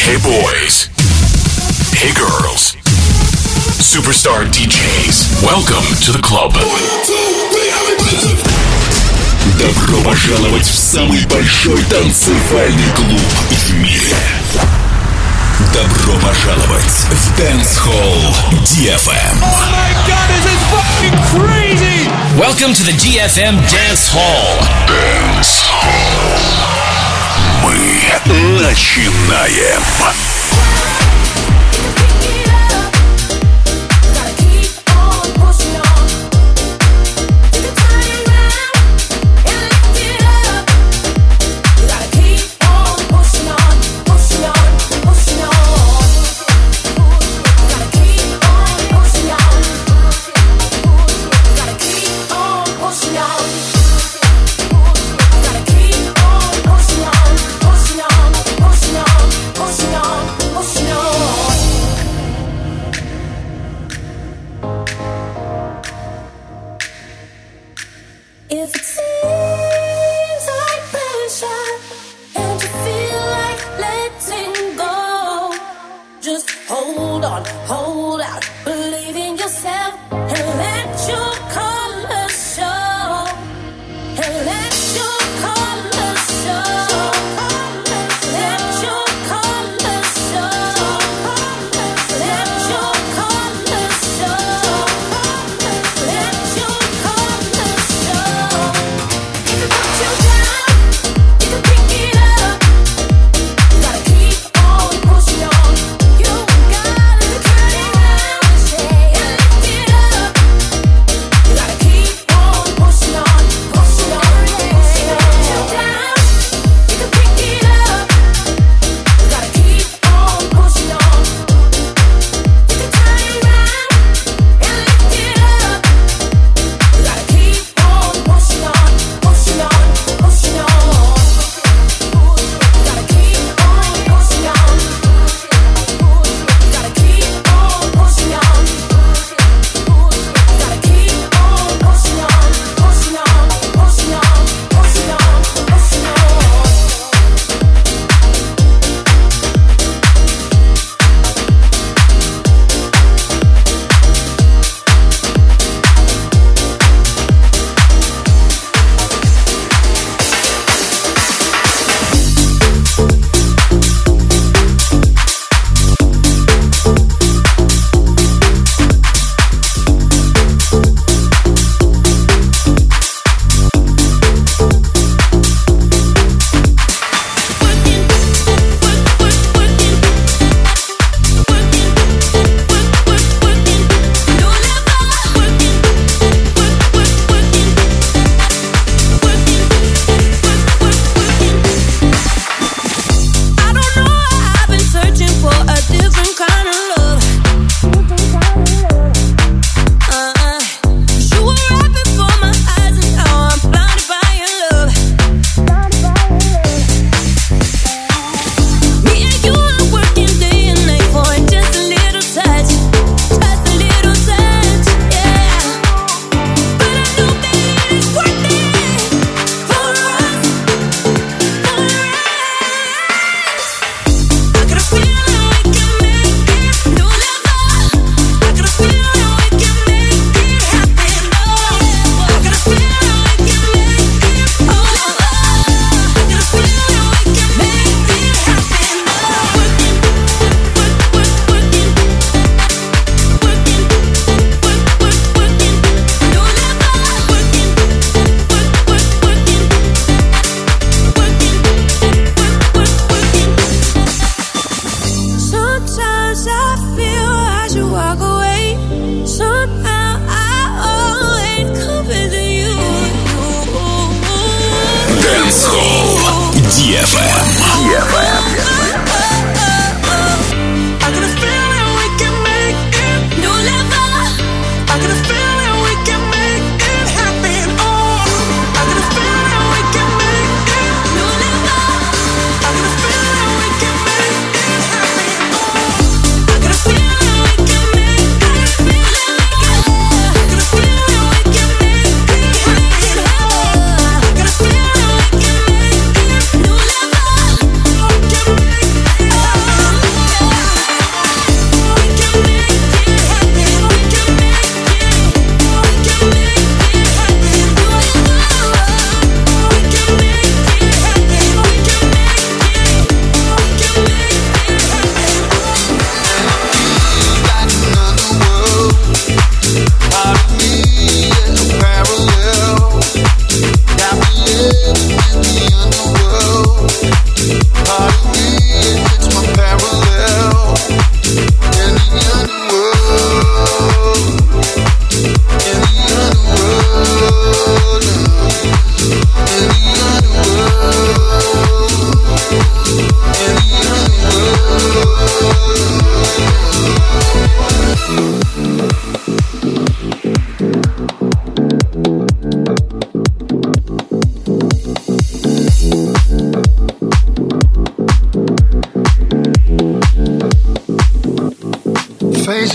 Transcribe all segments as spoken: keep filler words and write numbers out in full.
Hey boys. Hey girls. Superstar ди джейс. Welcome to the club. Добро пожаловать в самый большой танцевальный клуб в мире. Добро пожаловать в Dance Hall ди эф эм. Oh my god, this is fucking crazy! Welcome to the ди эф эм Dance Hall. Dance Hall. Мы начинаем. Pushing on.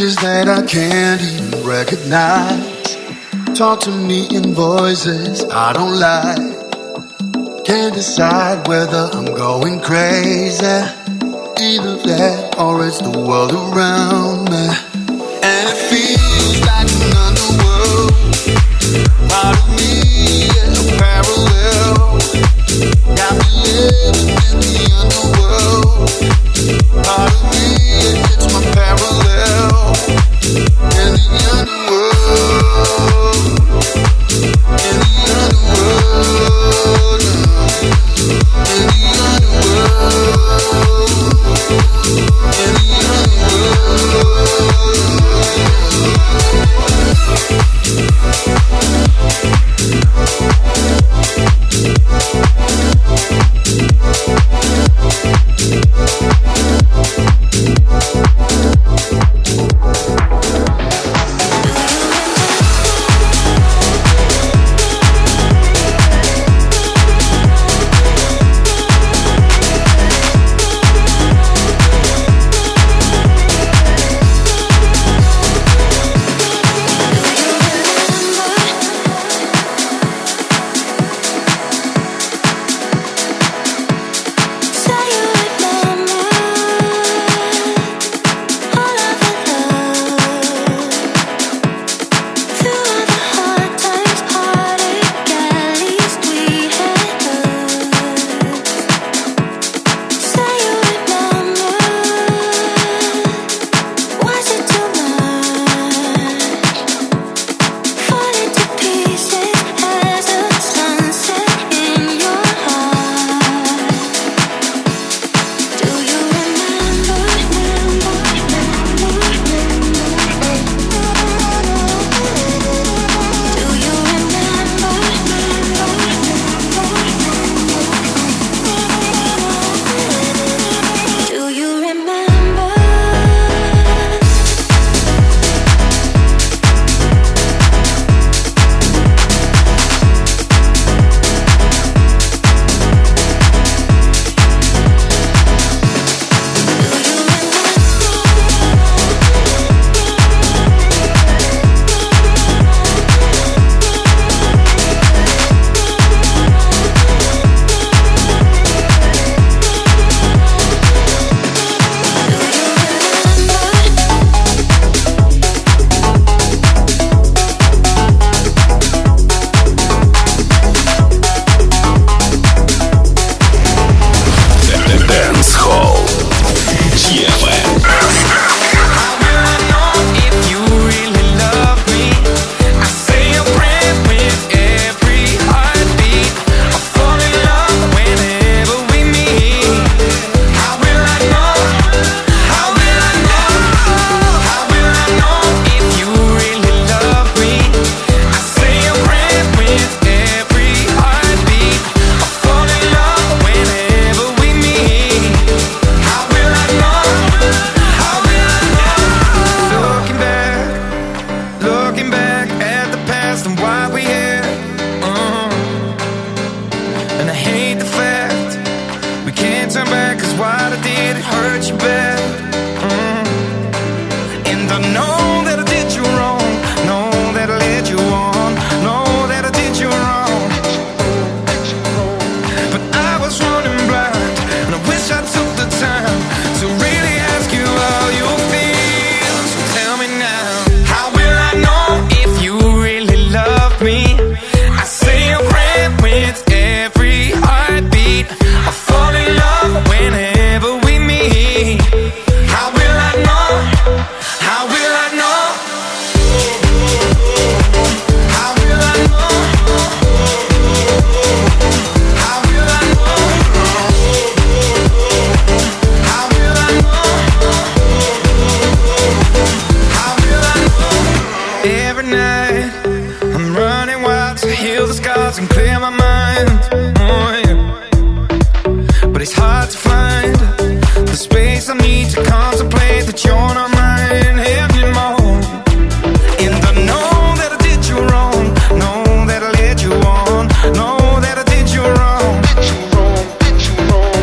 Faces that I can't even recognize. Talk to me in voices I don't like. Can't decide whether I'm going crazy. Either that or it's the world around me. And it feels like an underworld. Part of me is a parallel. Got me living in the underworld. Part of me, it's my parallel. In the underworld. In the underworld. In the underworld. In the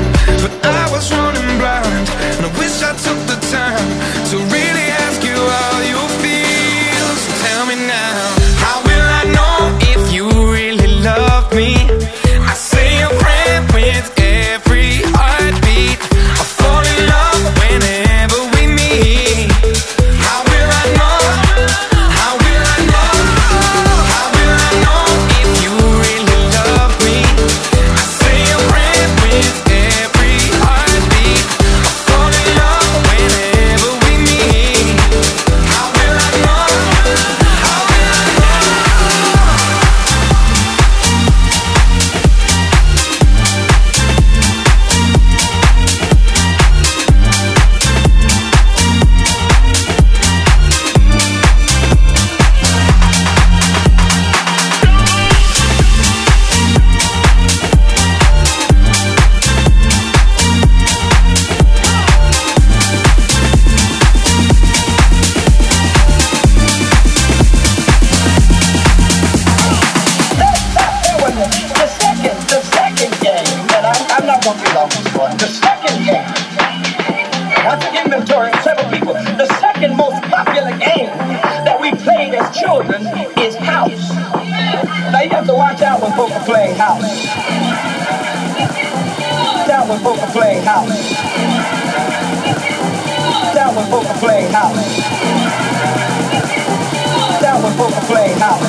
I took the time to really ask you out. popular one. The second game, I took inventory of several people. The second most popular game that we played as children is house. Now you have to watch out when folks are playing house. Down when folks are playing house. Down when folks are playing house. Down when folks are playing house.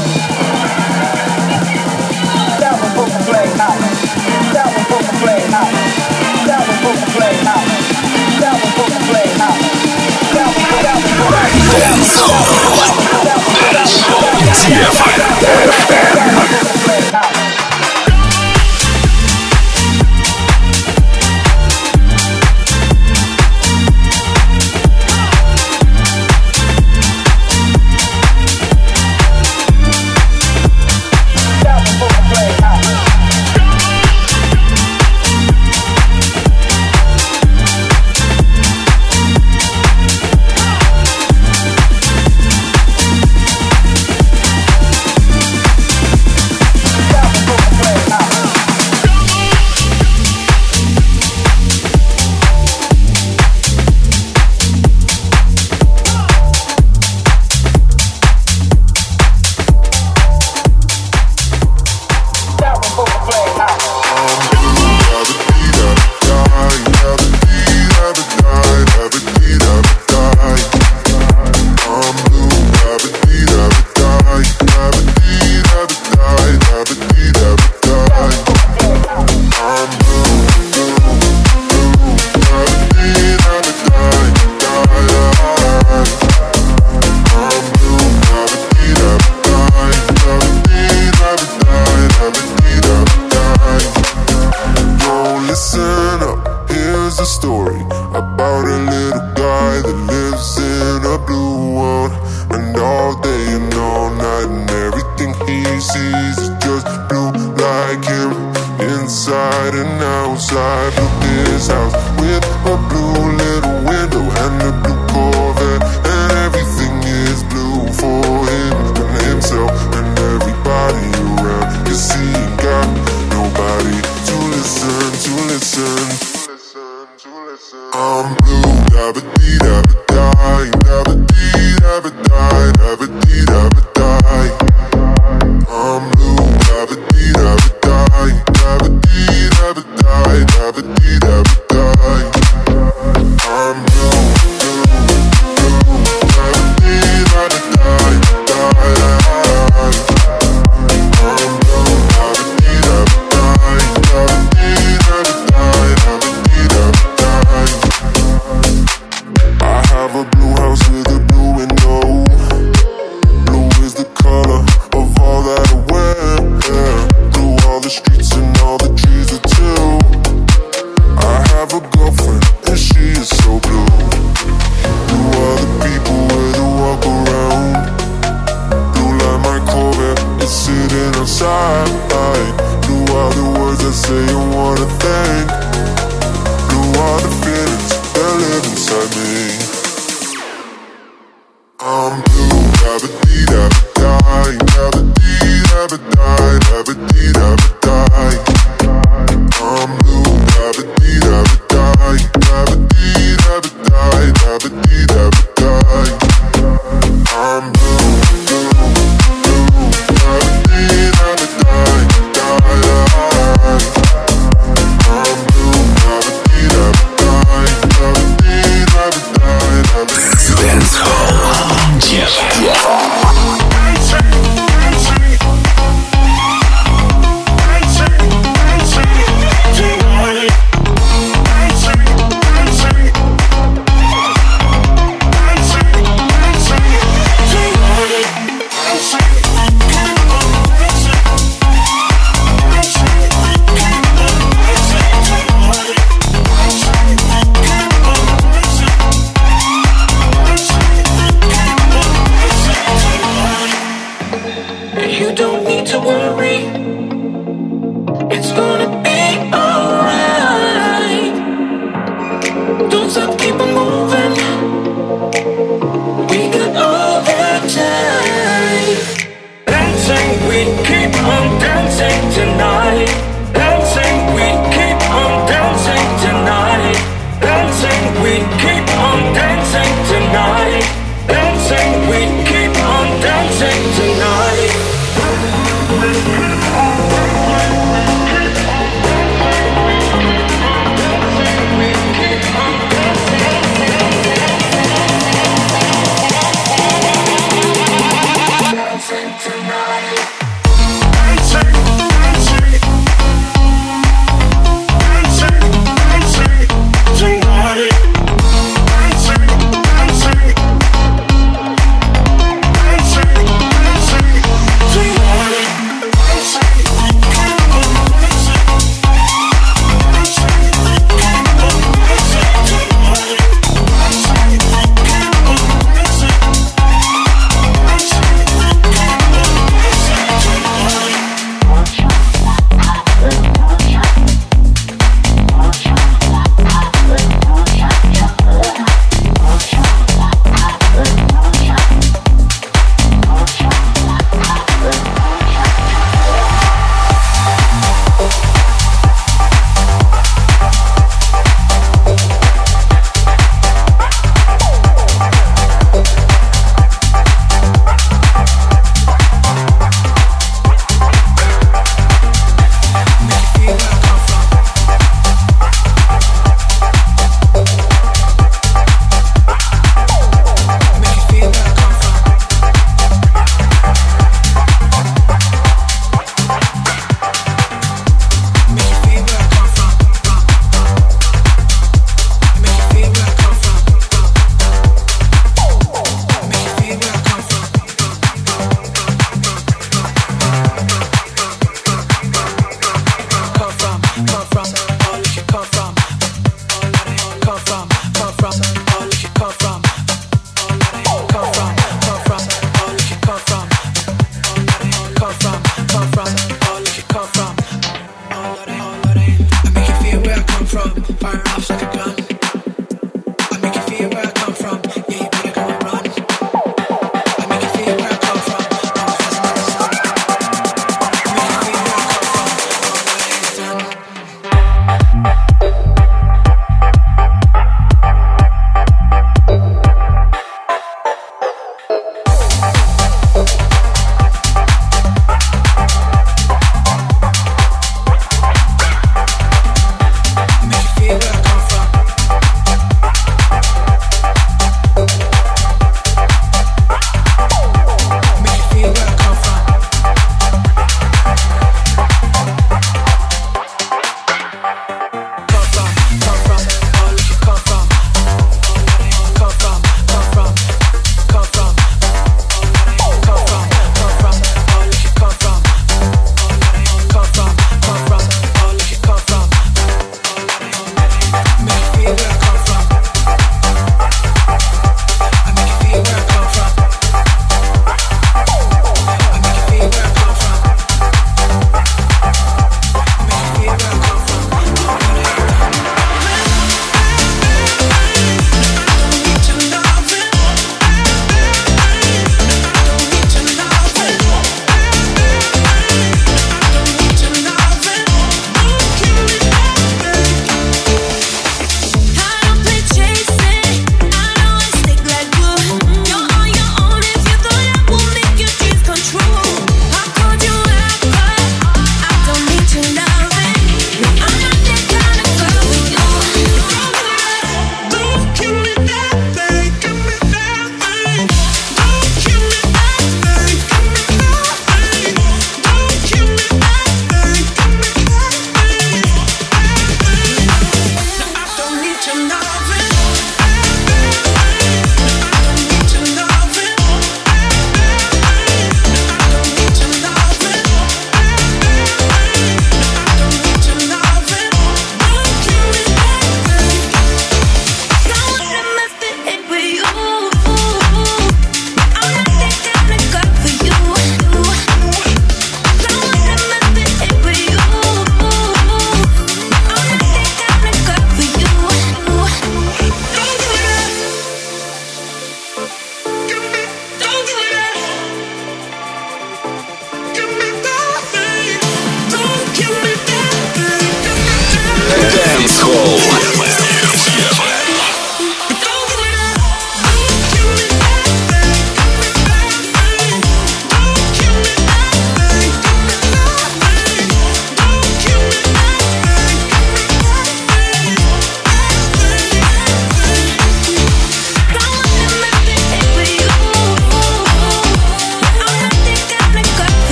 Down when folks are playing house. Down when folks are playing house. Down when folks are playing house. Down when folks are playing house. Down when folks are playing house. Dance Hall. ди эф эм. With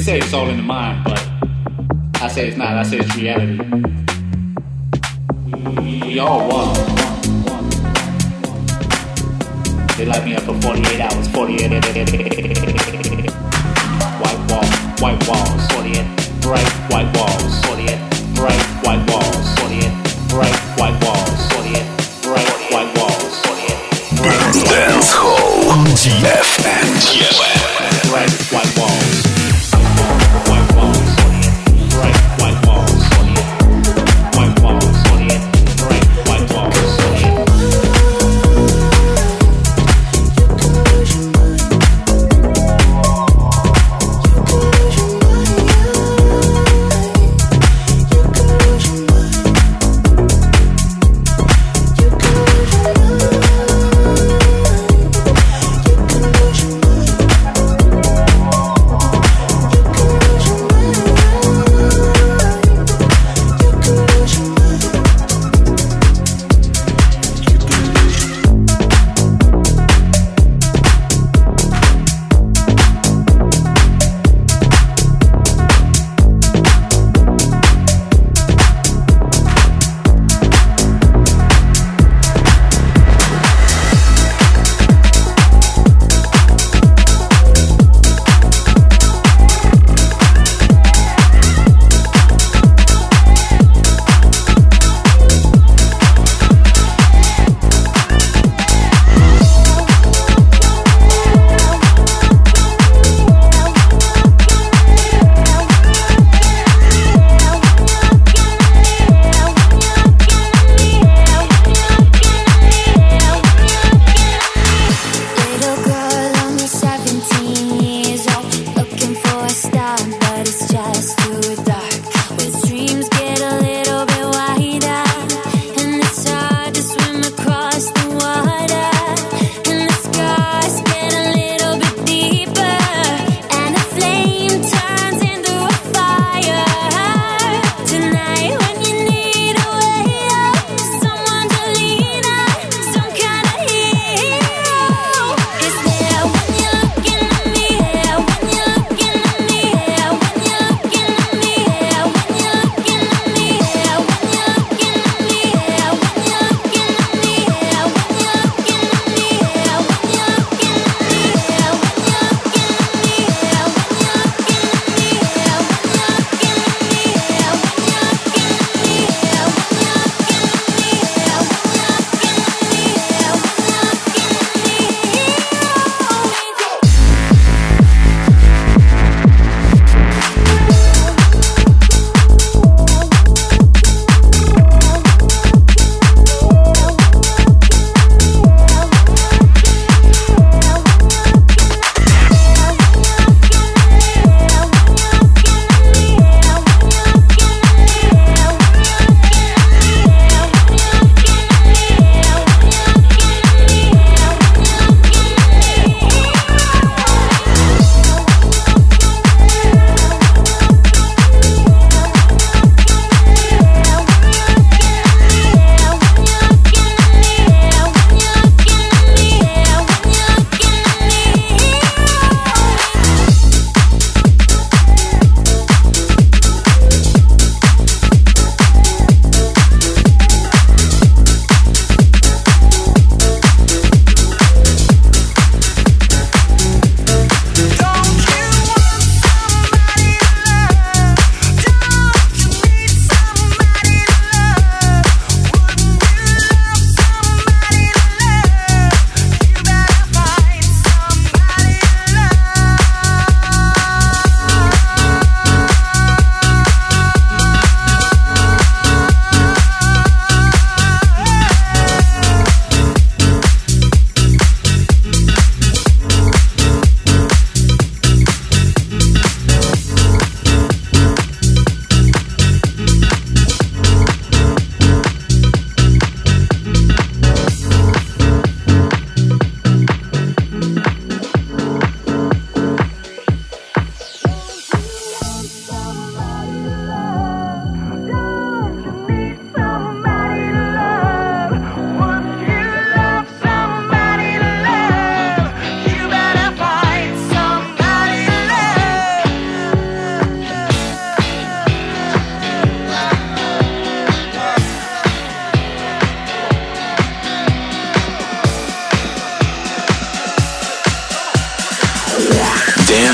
say it's all in the mind, but I say it's not. I say it's reality. We, we all won. They locked me up for forty-eight hours. forty-eight white walls, white walls, forty-eight bright white walls, forty-eight bright white walls, forty-eight bright white walls, forty-eight bright white walls, forty-eight Dance Hall ди эф эм. bright white walls, white walls, forty-eight bright white walls, forty-eight white walls, forty-eight bright white walls, forty-eight. You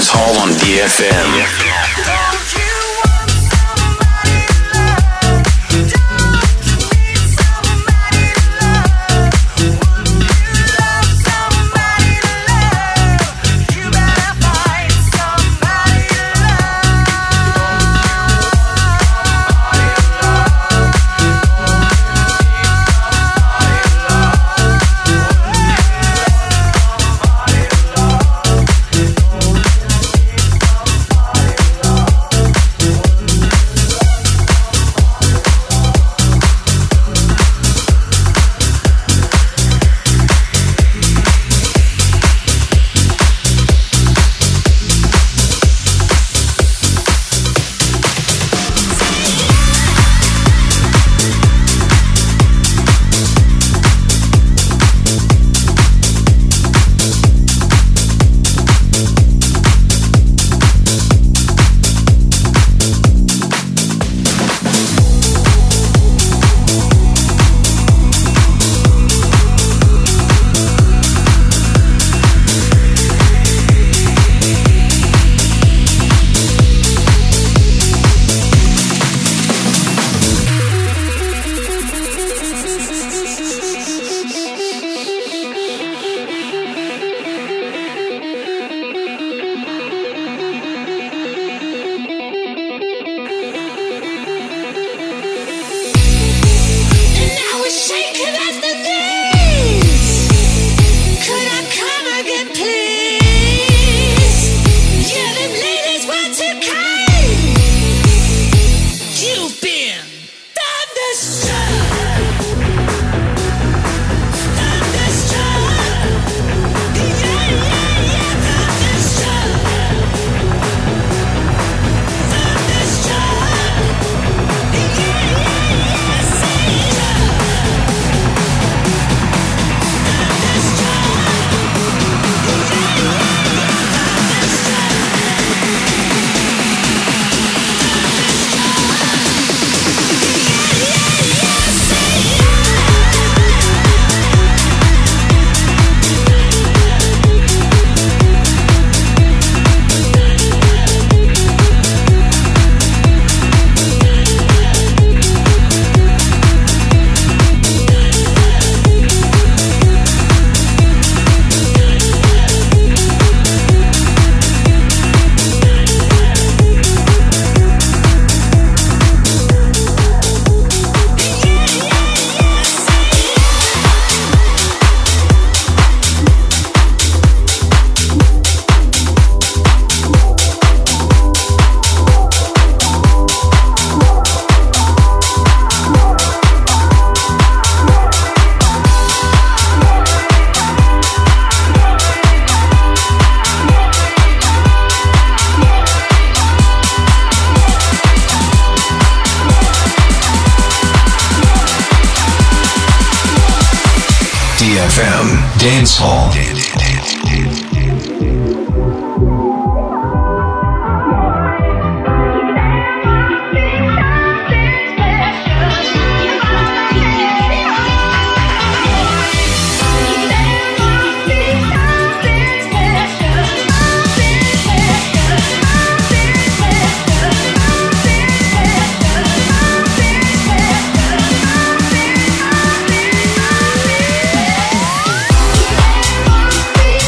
Dance Hall on D F M. D F M Dance Hall. Be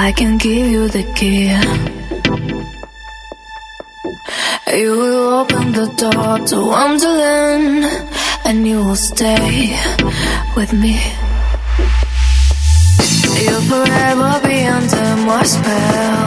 I can give you the key. You will open the door to Wonderland, and you will stay with me. You'll forever be under my spell.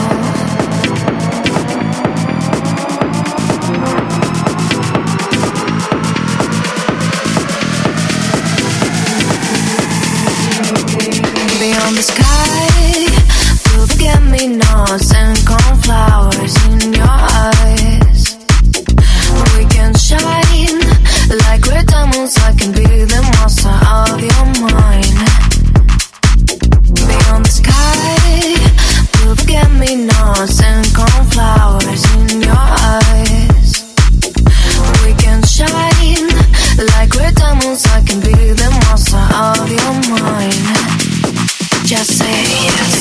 Beyond the sky, you'll forget-me-nots and cornflowers in your eyes. We can shine like red diamonds. I can be the monster of your mind. Beyond the sky, you'll forget-me-nots and cornflowers in your eyes. We can shine like red diamonds. I can be the monster of your mind. Just say yes.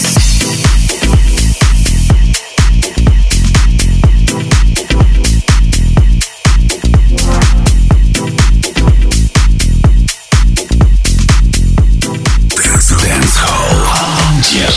Dance Hall. Yes.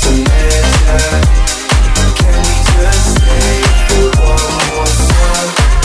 Can we just stay for one more song?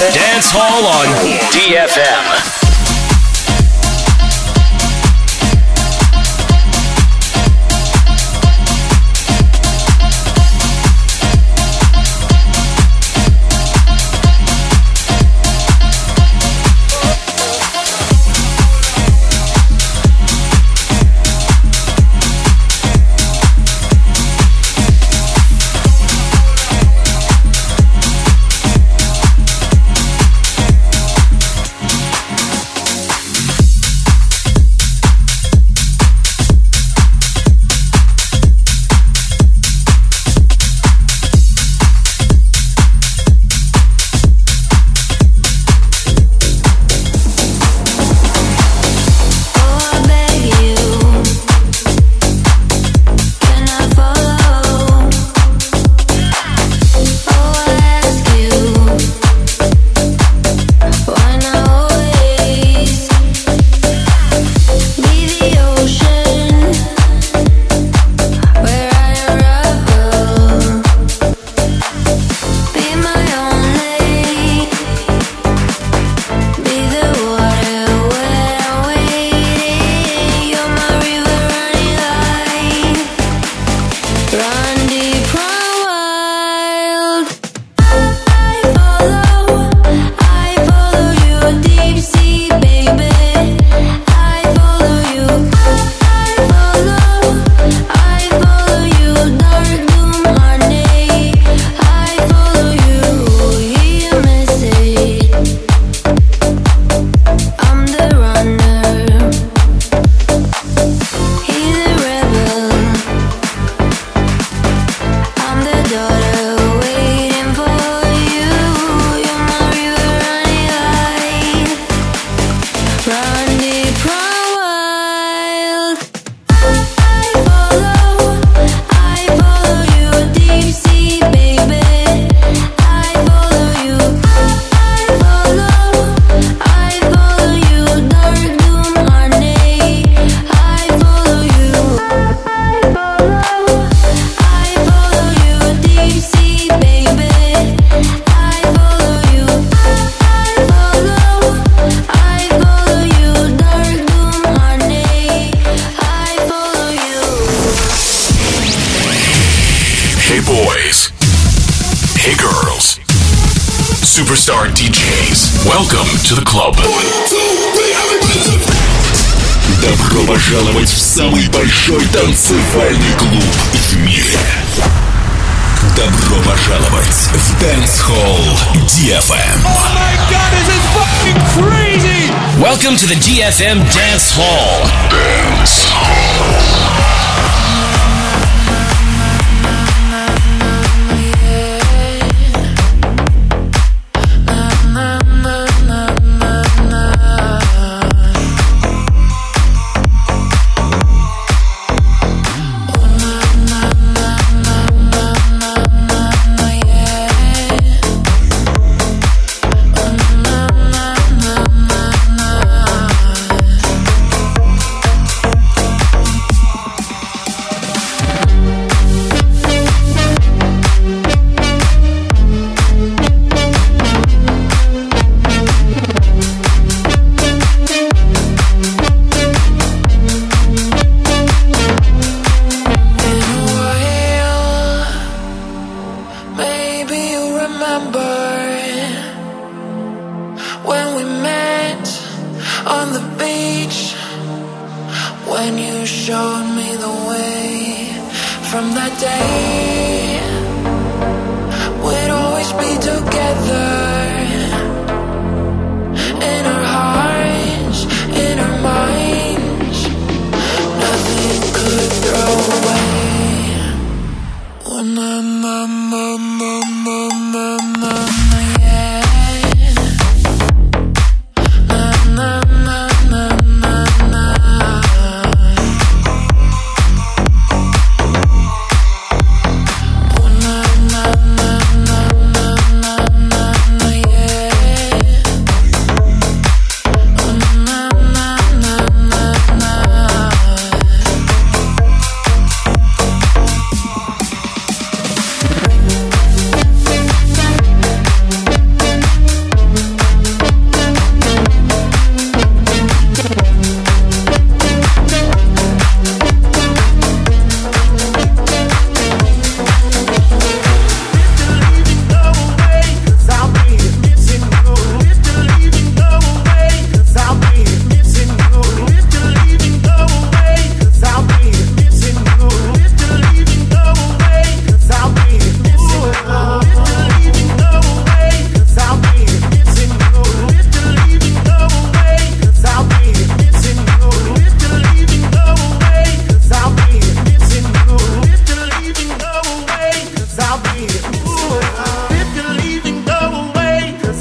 Dance Hall on D F M. Superstar ди джейс. Welcome to the club. Добро пожаловать в самый большой танцевальный клуб в мире. Добро пожаловать в Dance Hall ди эф эм. Oh my God, this is fucking crazy! Welcome to the D F M Dance Hall. Dance Hall.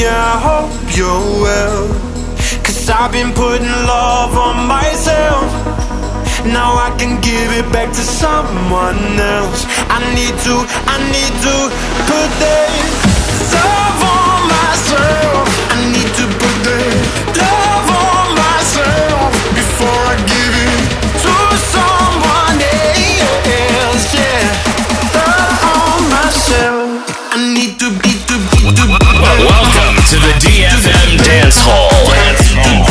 yeah, I hope you're well. Cause I've been putting love on myself. Now I can give it back to someone else. I need to, I need to put that love on myself. I need to put that love on myself before I give it to someone else. Yeah, love on myself. I need to be, to be, to be. Welcome to the D F M Dance Hall. Dance Hall.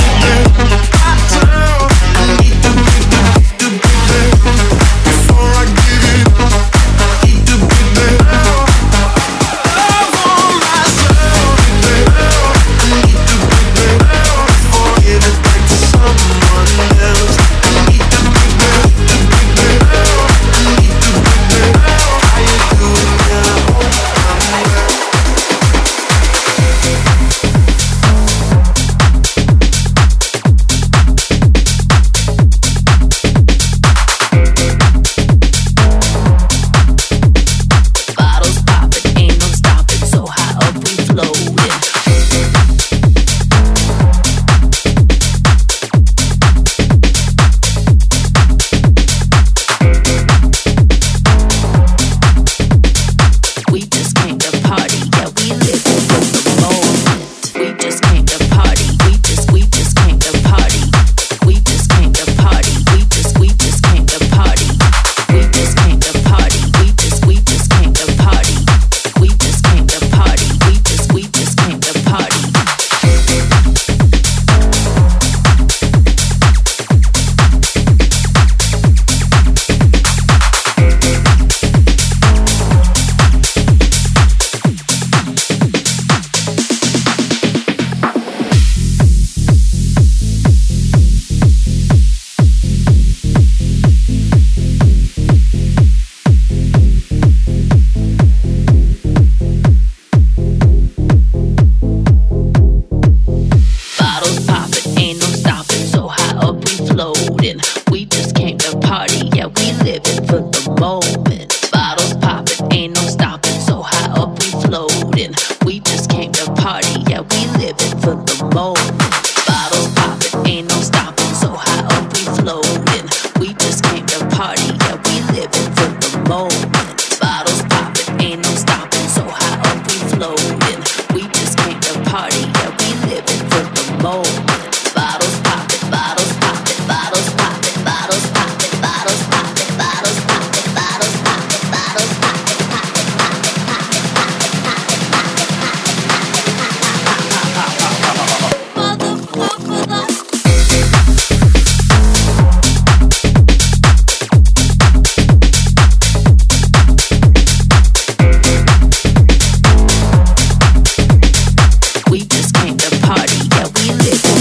We just came to party, yeah, we live.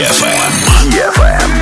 эф эм. ди эф эм.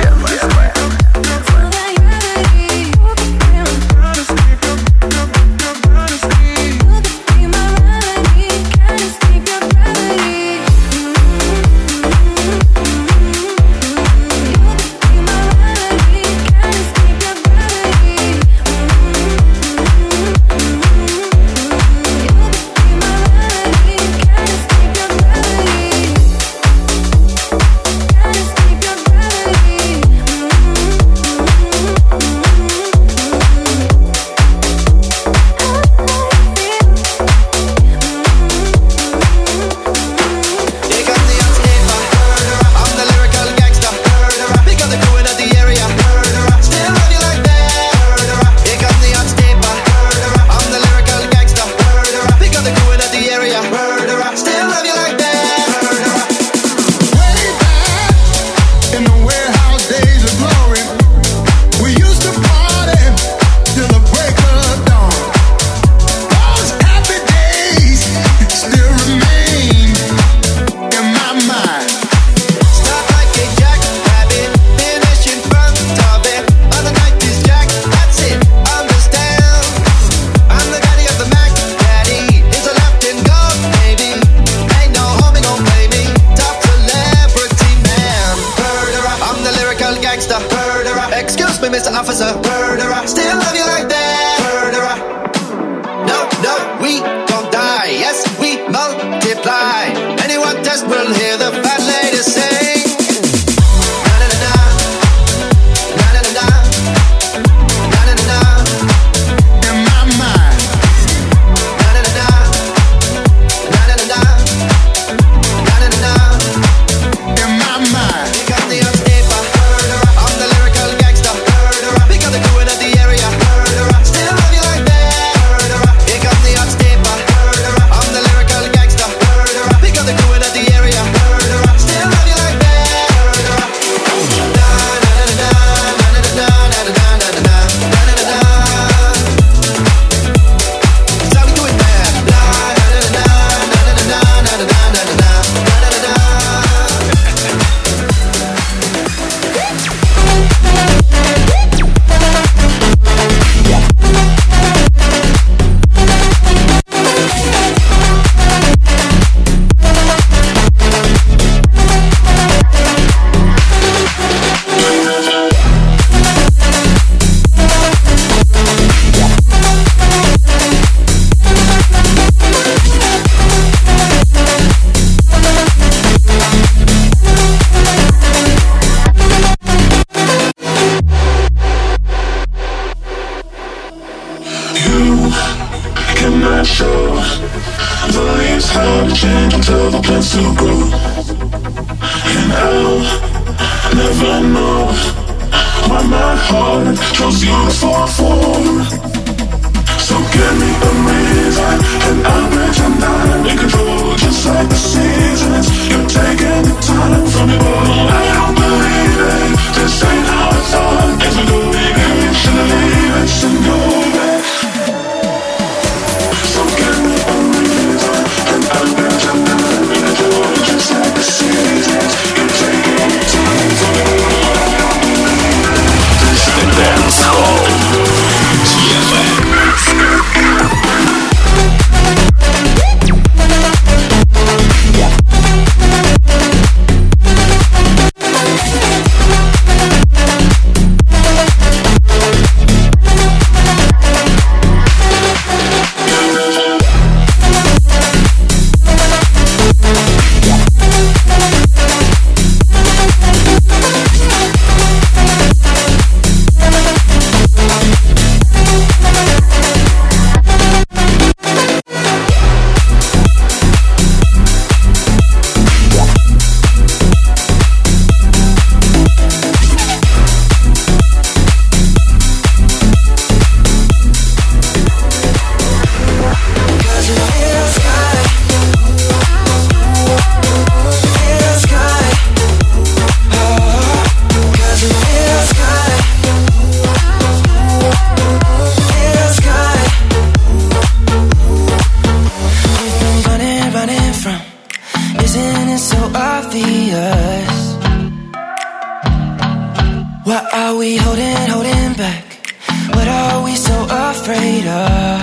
What are we holding, holding back? What are we so afraid of?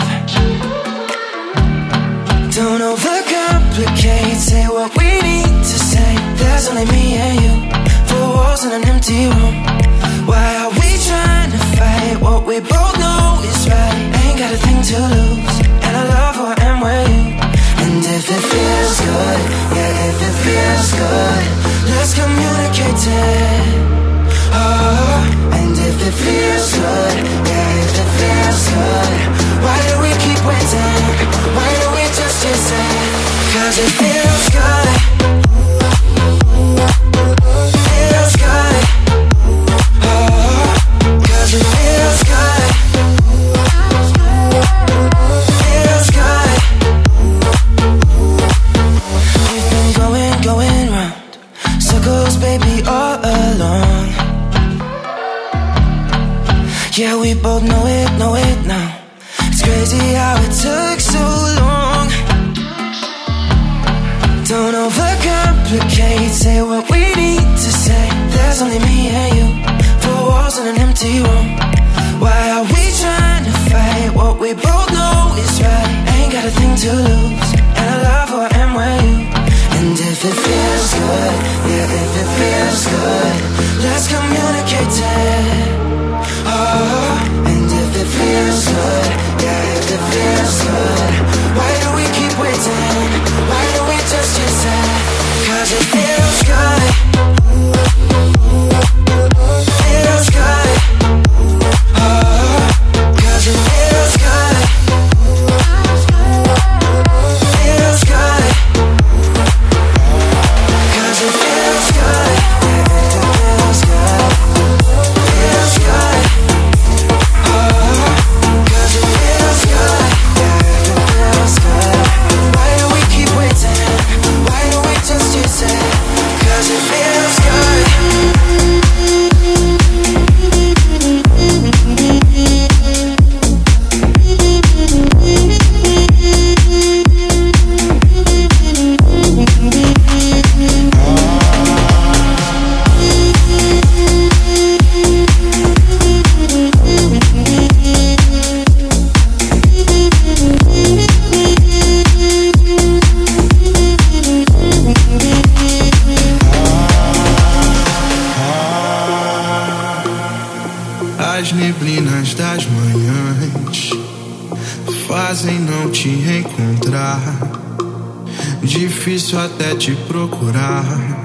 Don't overcomplicate, say what we need to say. There's only me and you, four walls in an empty room. Why are we trying to fight what we both know is right? Ain't got a thing to lose, and I love who I am with you. And if it feels good, yeah, if it feels good, let's communicate it. Oh, and if it feels good, yeah, if it feels good, why do we keep waiting? Why don't we just chase it? Cause it feels good. Feels good. Oh, cause it feels good. Feels good. We've been going, going round circles, baby, all along. Yeah, we both know it, know it now. It's crazy how it took so long. Don't overcomplicate, say what we need to say. There's only me and you, four walls in an empty room. Why are we trying to fight what we both know is right? Ain't got a thing to lose, and I love who I am with you. And if it feels good, yeah, if it feels good, let's communicate it. Oh, and if it feels good, yeah, if it feels good, why do we keep waiting? Why don't we just chase it? Cause it feels good. Feels good. Oh, cause it feels good. Feels good. Cause it feels good. Yeah, if it feels good. Feels good. As neblinas das manhãs fazem não te encontrar. Difícil até te procurar.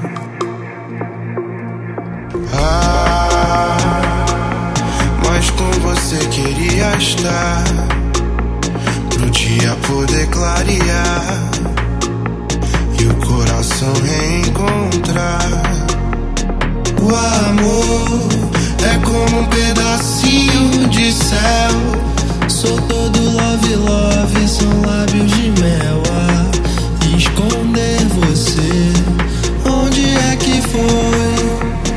Ah, mas com você queria estar, pro dia poder clarear e o coração reencontrar. O amor é como um pedacinho de céu. Sou todo love, love, são lábios de mel. A esconder você, onde é que foi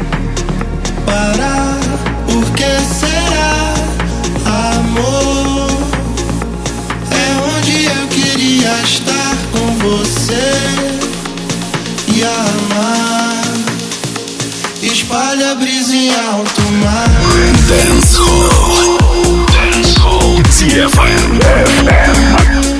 parar? Por que será? Amor é onde eu queria estar com você e amar. Espalha a brisa em alto mar. Dance Hall. Dance Hall. ди эф эм.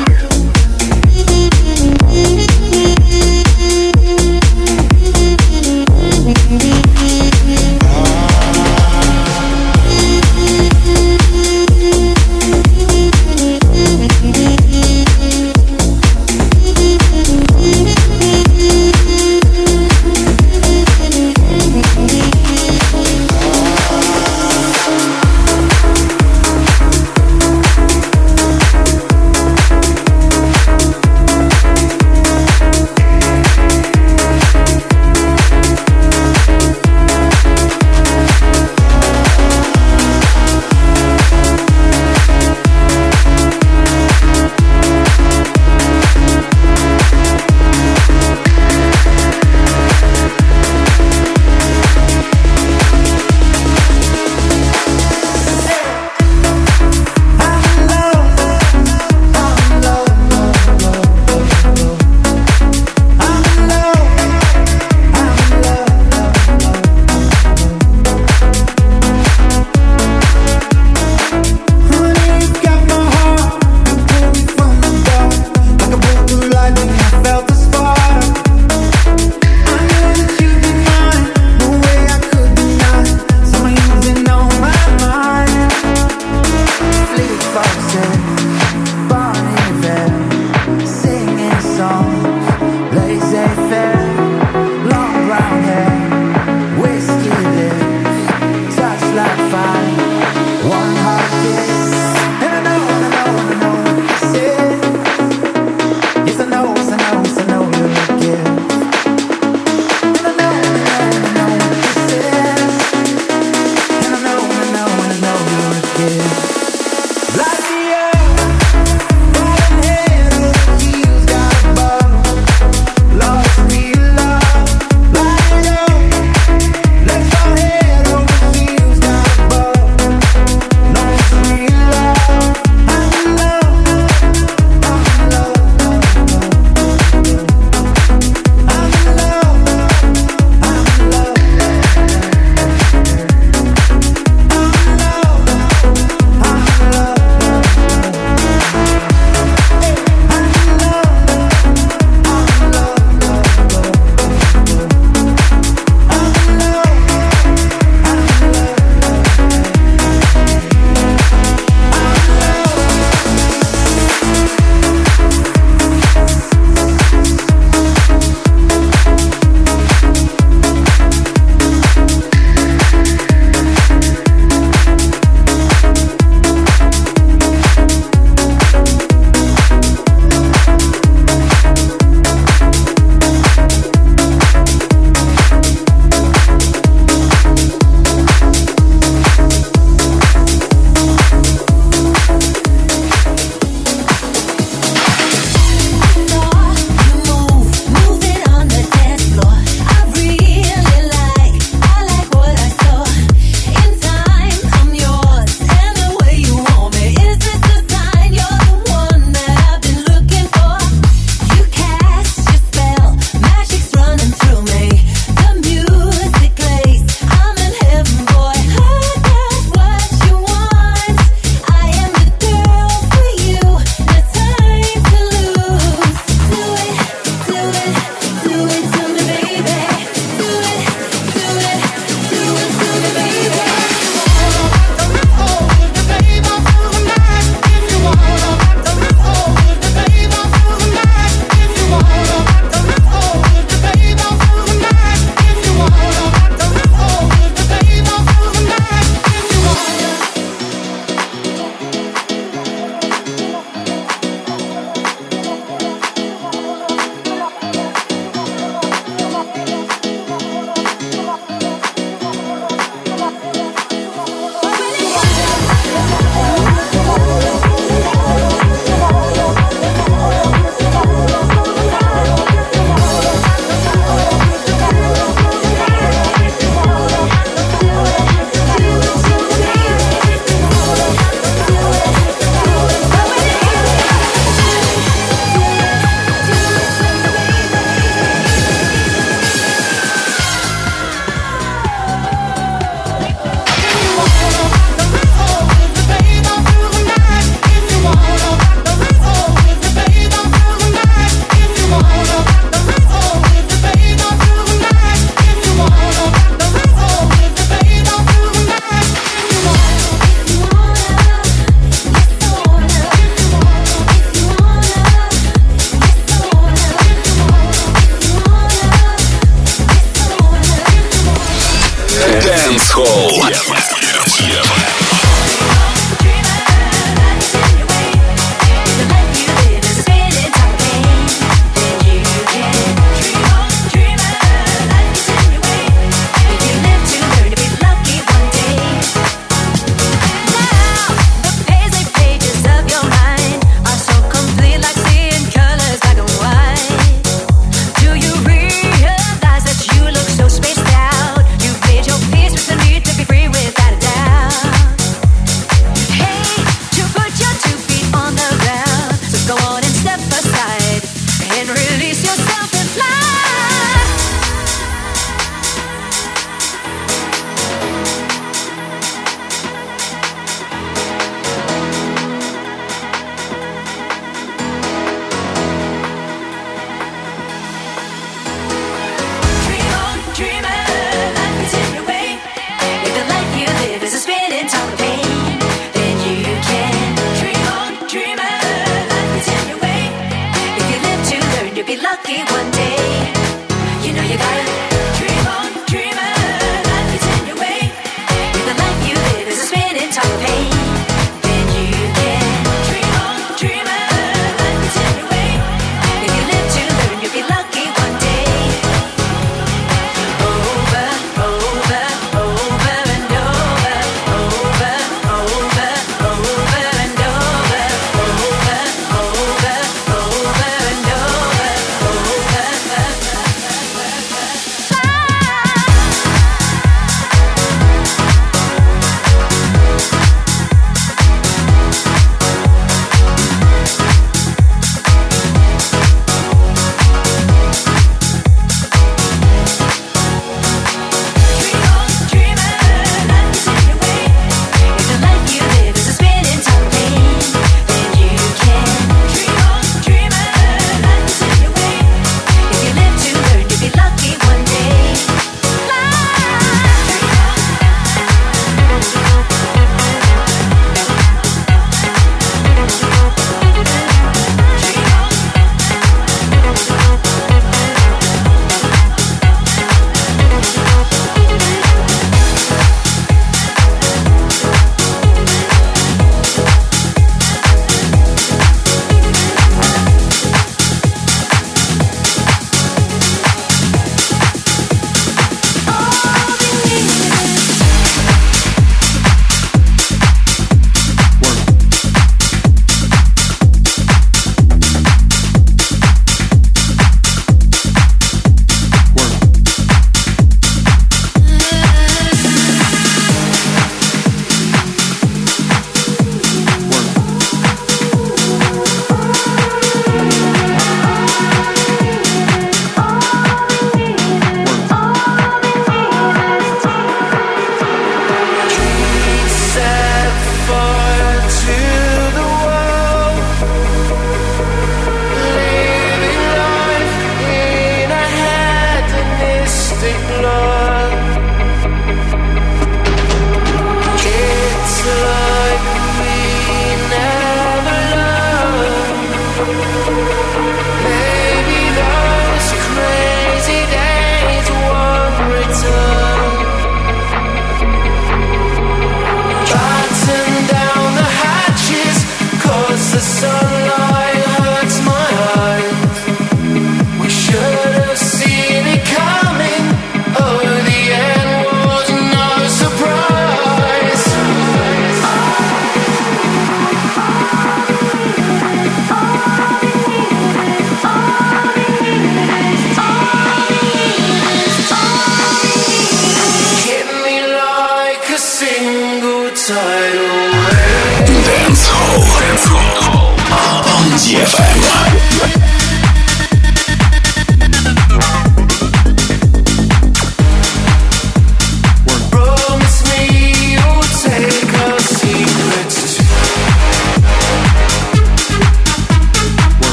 Dance Hall. Тема. Тема.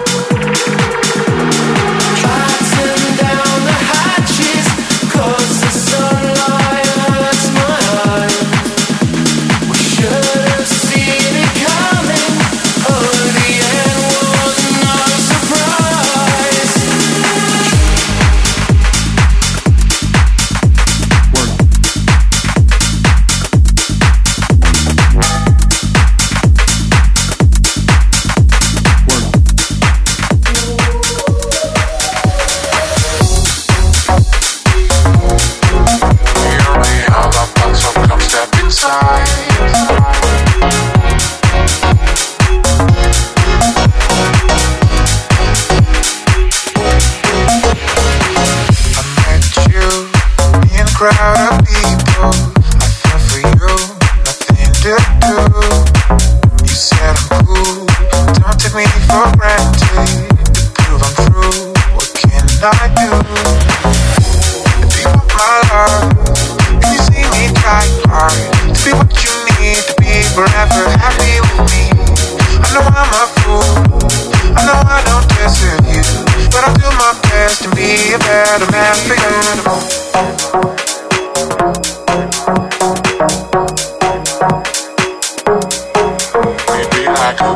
Cause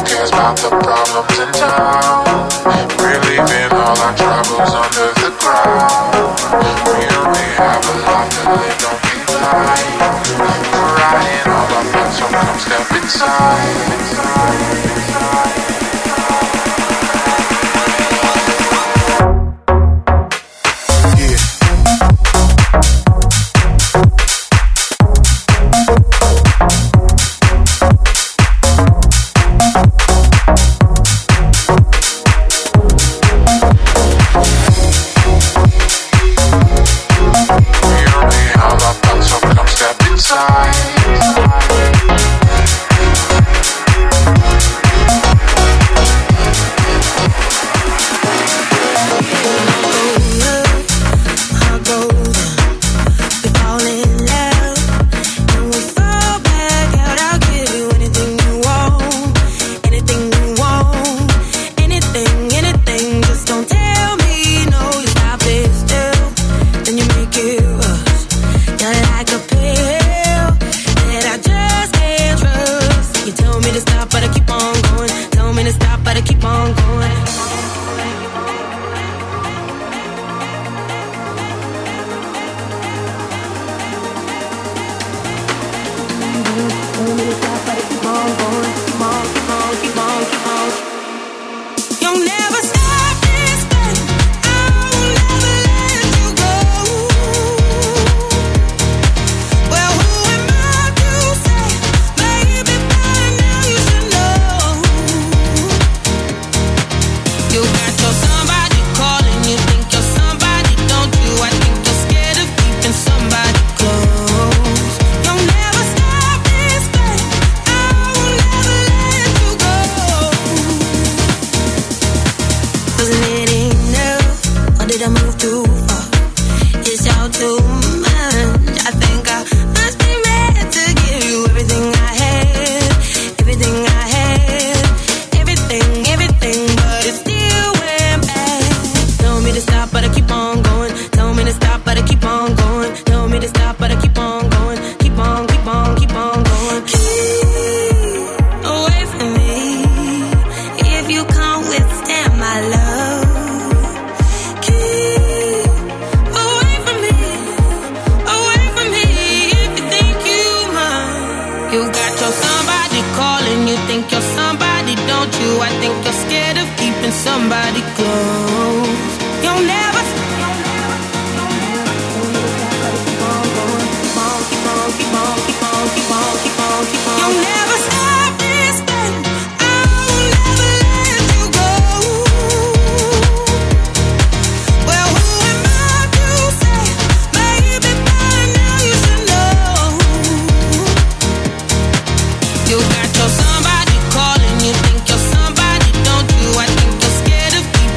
cares about the problems in town? We're leaving all our troubles under the ground. We only have a life to live, don't be blind. We're riding all our thoughts, so come step inside. You got your somebody calling, you think you're somebody, don't you? I think you're scared of people.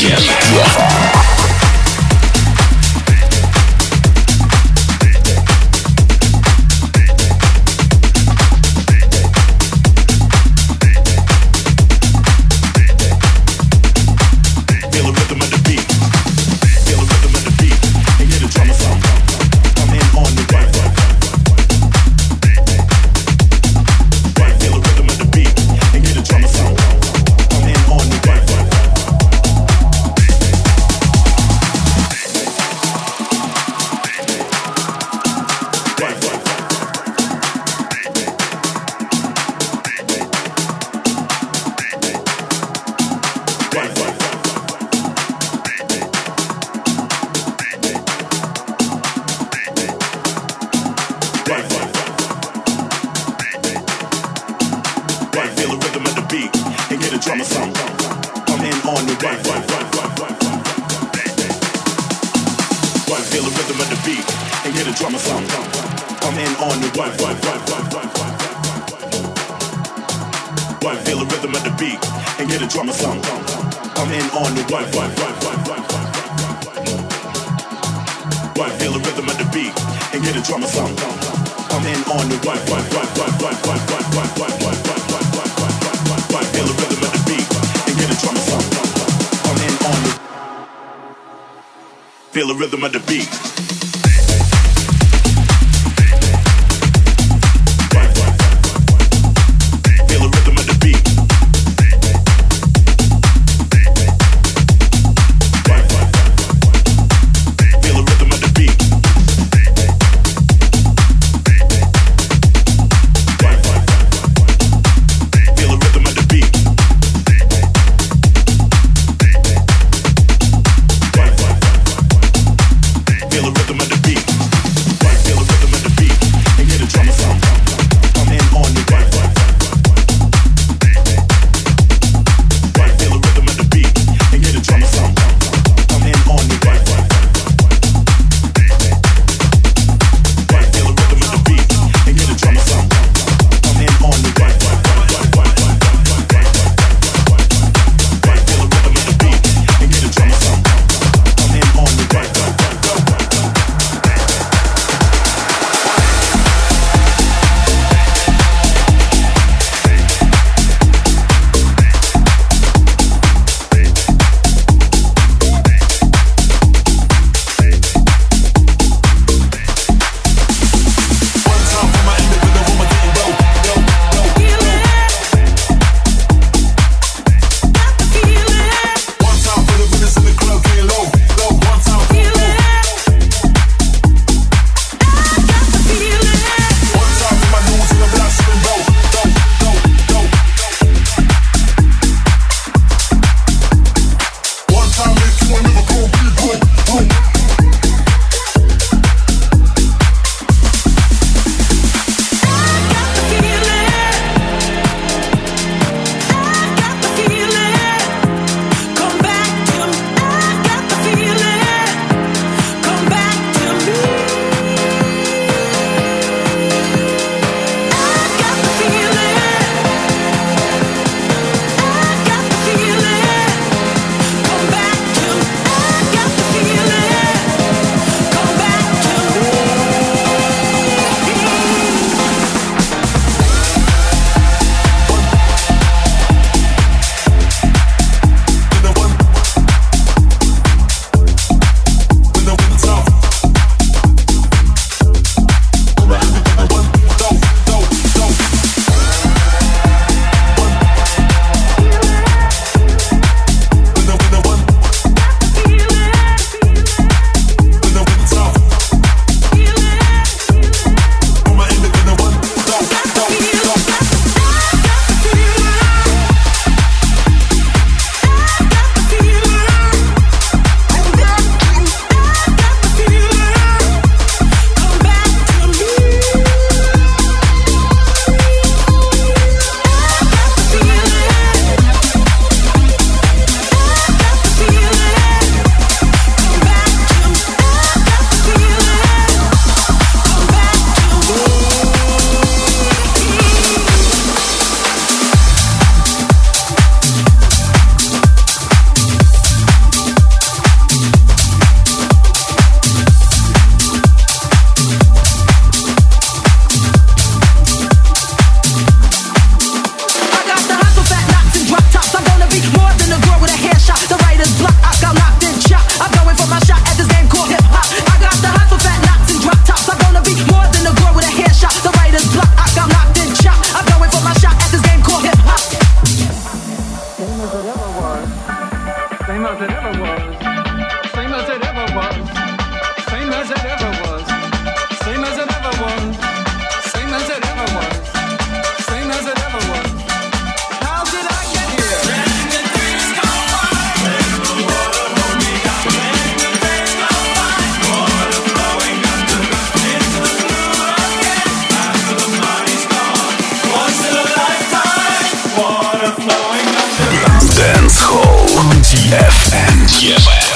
Feel the rhythm of the beat. Feel the rhythm эф эм. ди эф эм.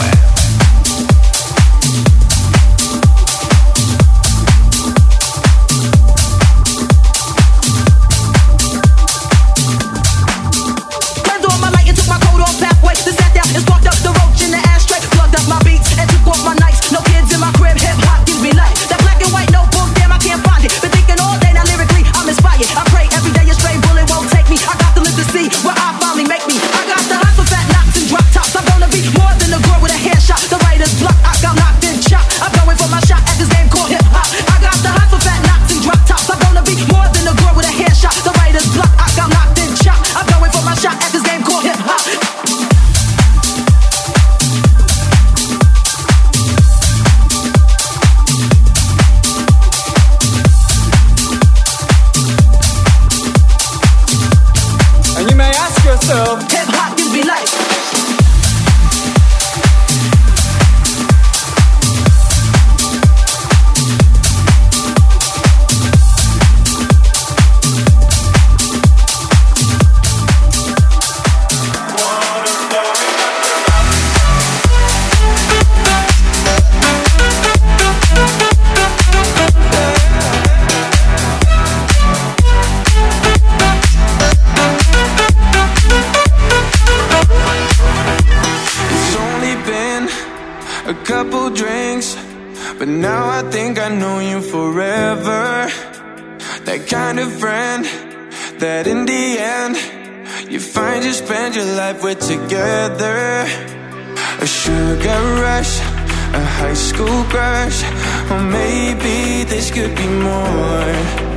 We're together. A sugar rush, a high school crush, or maybe this could be more.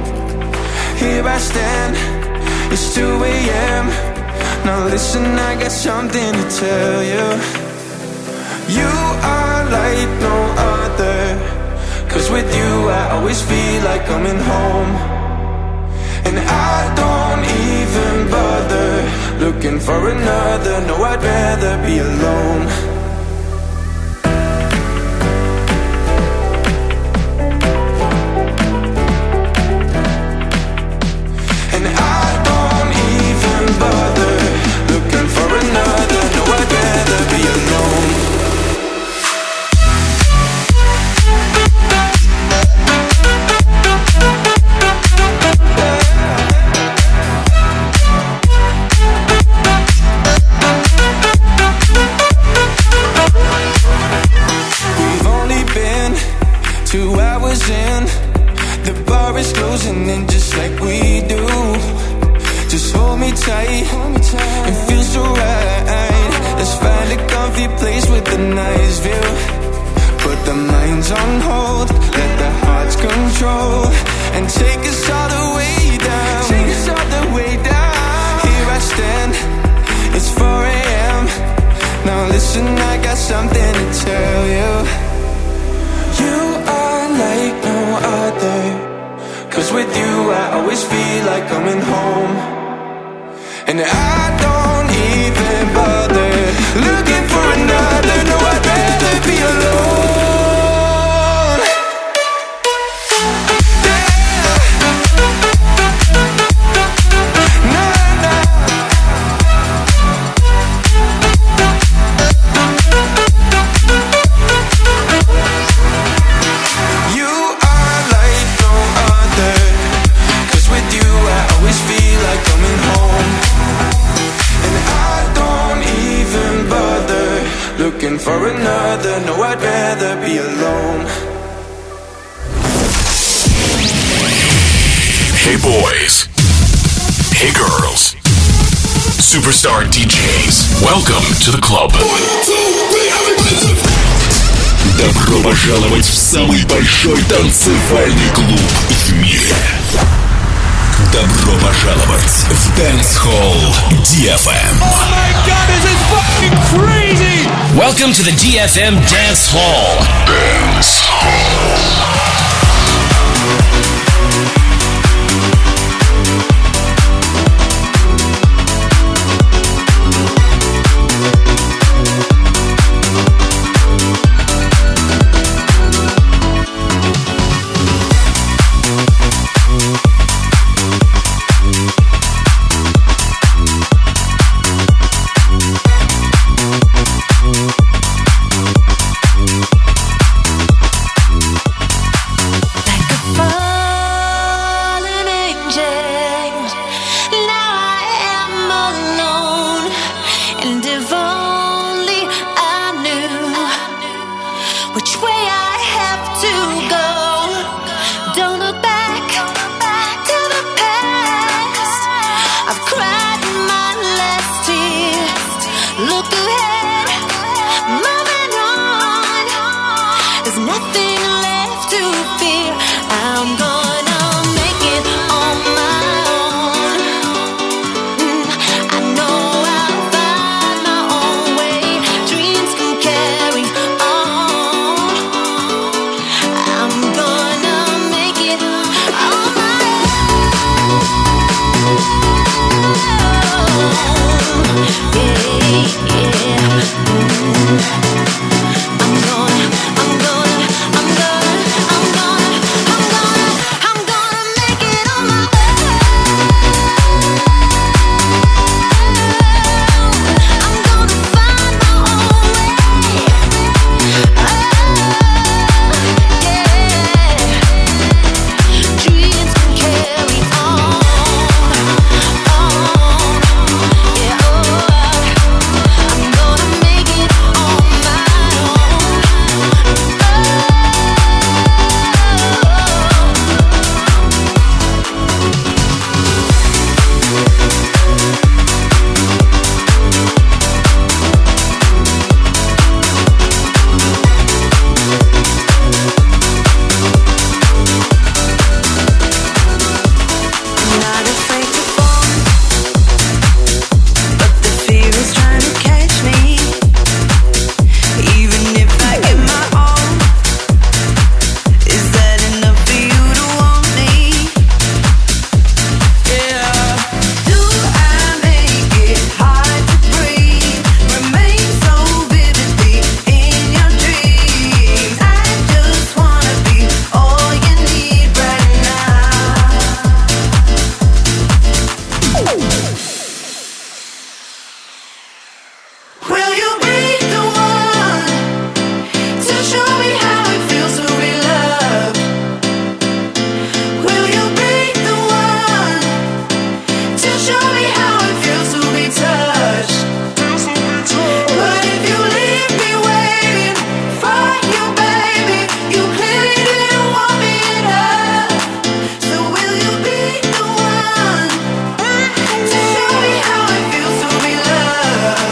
Here I stand, it's two a.m. Now listen, I got something to tell you. You are like no other, 'cause with you I always feel like coming home. And I don't even bother looking for another. No, I'd rather be alone. And I don't even bother looking for another. No, I'd rather be alone. In. The bar is closing in just like we do. Just hold me tight, it feels so right. Let's find a comfy place with a nice view. Put the minds on hold, let the hearts control, and take us all the way down. Take us all the way down. Here I stand, it's four a.m. Now listen, I got something to tell you. You are like no other, 'cause with you I always feel like coming home. And I don't even bother looking for another. No, I'd rather be alone. Looking for another, no, I'd rather be alone. Hey boys, hey girls, superstar ди джейс, welcome to the club. Добро пожаловать в самый большой танцевальный клуб в мире. Добро пожаловать в Dance Hall ди эф эм. Oh my God, this is fucking crazy! Welcome to the ди эф эм Dance Hall. Dance Hall. There's nothing left to fear. I'm gonna make it on my own. Mm, I know I'll find my own way. Dreams can carry on. I'm gonna make it on my own. Yeah, yeah. Mm. I'm gonna, I'm gonna, I'm gonna, I'm gonna, I'm gonna, I'm gonna make it on my own. I'm gonna find my own way. Oh, yeah. Dreams can carry on, on. Yeah, oh, I'm gonna make it on my I'm not afraid to fall, but the fear is trying to catch me. Even if I give my all, is that enough for you to want me? Yeah. Do I make it hard to breathe? Remain so vividly in your dreams. I just wanna be all you need right now. Will you be the one to show me how it feels to be loved? Will you be the one to show me how it feels to be touched? But if you leave me waiting for you, baby, you clearly didn't want me enough. So will you be the one to show me how it feels to be loved?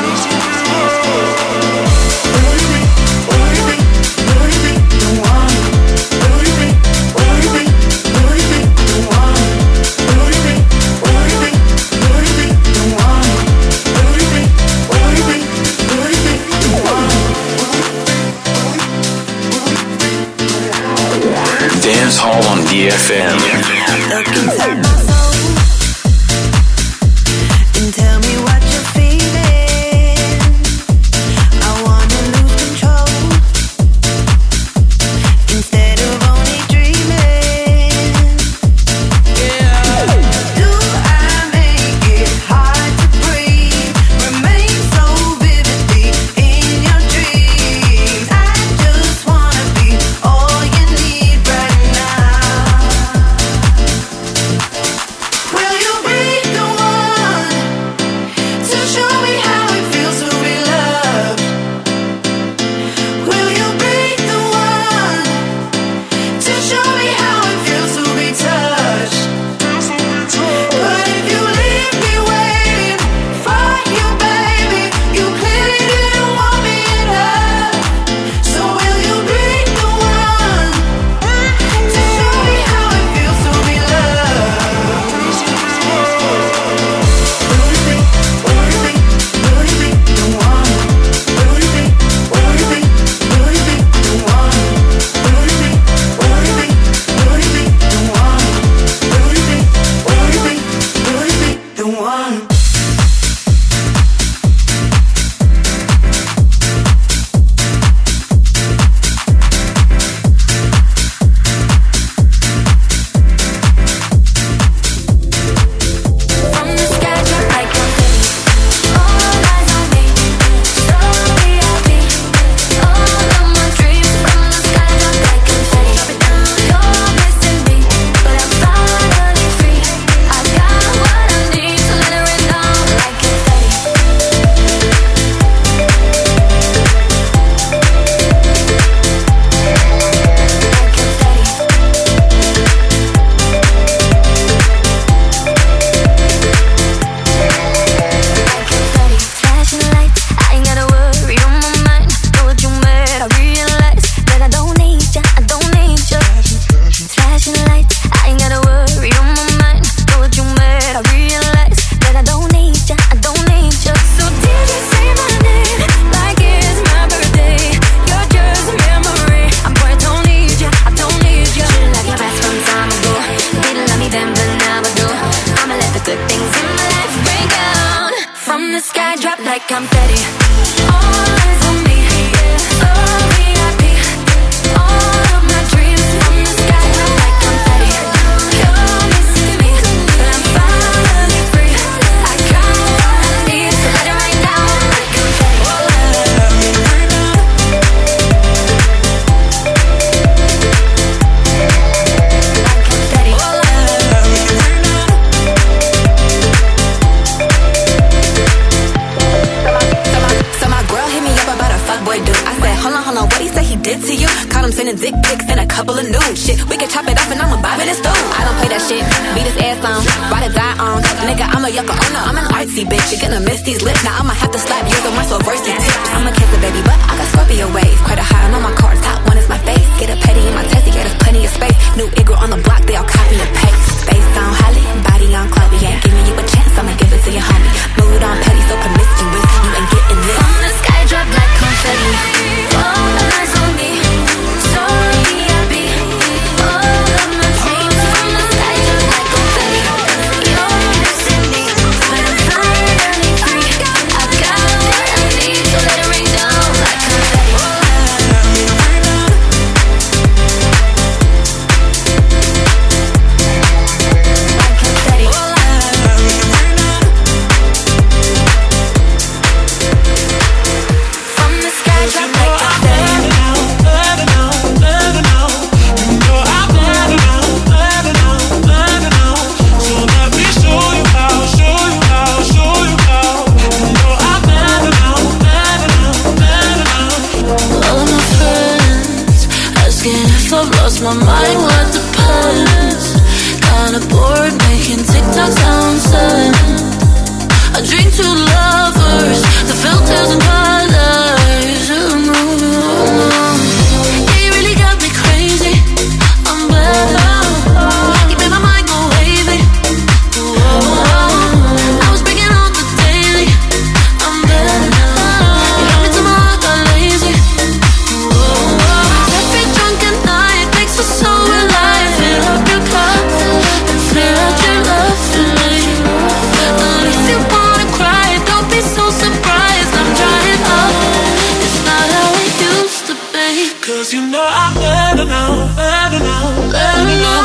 Dance Hall on D F M. Look inside my soul and tell me what you're feeling. I wanna lose control instead of only dreaming. Yeah. Do I make it hard to breathe? Remain so vividly in your dreams. I just wanna be all you need right now. hold on, hold on, what he say he did to you? Caught him sending dick pics and a couple of nudes. Shit, we can chop it up and I'ma bob in his stool. I don't play that shit, beat his ass on, ride or die on. Nigga, I'm a yucca, oh no, I'm an artsy bitch. You're gonna miss these lips, now I'ma have to slap you on my so versy tips. I'ma kiss a baby, but I got Scorpio waves. Quite a high on my cards, top one is my face. Get a petty in my testy, yeah, there's plenty of space. New Igor on the block, they all copy and paste. Face on Holly, body on Chloe. Ain't giving you a chance, I'ma give it to your homie. Mood on petty, so promiscuous, you ain't getting this. From the sky, drop like confetti. All eyes on me, so V I P. All of my dreams. From the sky, drop like confetti. You're missing me, but I'm finally free. I got what I need, so let it rain down like confetti. My mind, what depends. Kinda bored making TikTok sound sad. I drink to lovers, the filters and colors. Yeah, you really got me crazy. I'm better. You made my mind go wavy. I was breaking on the daily. I'm better. You got me to my heart got lazy. Every drunken night makes us so alive. Fill up your cup and clear out your love for me. And if you wanna cry, don't be so surprised. I'm drying up. It's not how it used to be. 'Cause you know I'm better now, better now, better now.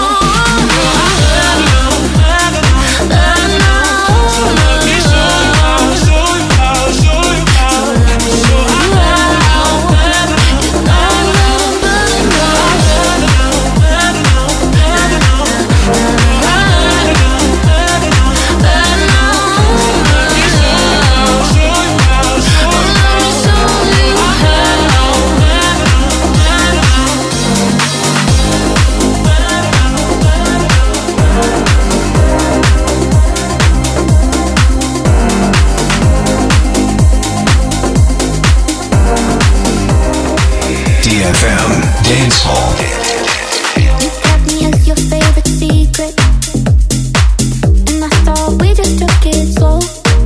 D F M Dance Hall. You kept me as your favorite secret, and I thought we just took it slow.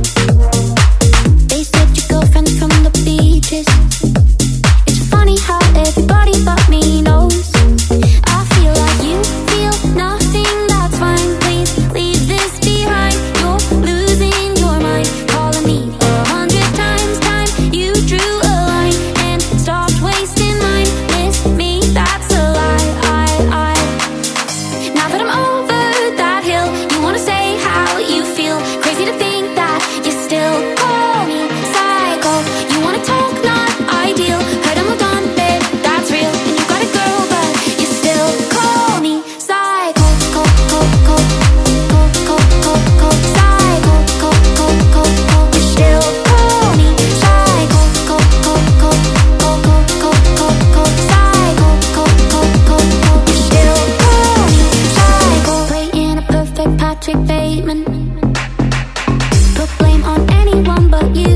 They said your girlfriend's from the beaches. It's funny how everybody but me knows. I feel like you feel nothing, that's fine. Please leave this behind. You're losing your mind, calling me a hundred times. Time you drew a line and stopped wasting mine. Miss me, that's a lie. I, I. Now that I'm over that hill, you wanna say how you feel. Crazy to think that you still call me psycho. You wanna talk, not ideal. Heard I'm moved on, babe, that's real. And you got a girl, but you still call me psycho. Go, go, go, go, go, go, go, psycho. Go, go, go, go, you still call me psycho. Go, go, go, go, go, go, go, go, psycho. Go, go, go, go, you still call me psycho. Playing a perfect Patrick Bateman. Put blame on anyone but you.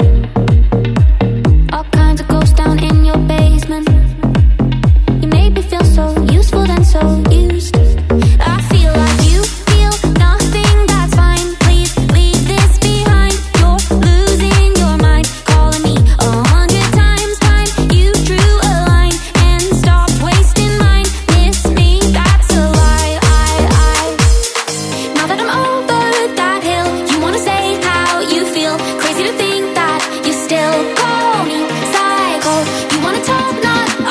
All kinds of ghosts down in your basement. You made me feel so useful then so used. I feel like you feel nothing, that's fine. Please leave this behind. You're losing your mind, calling me a hundred times. Time you drew a line and stopped wasting mine. Miss me, that's a lie. I, I. Now that I'm over that hill, you wanna say how you feel. Crazy to think that you still call me psycho. You wanna talk, not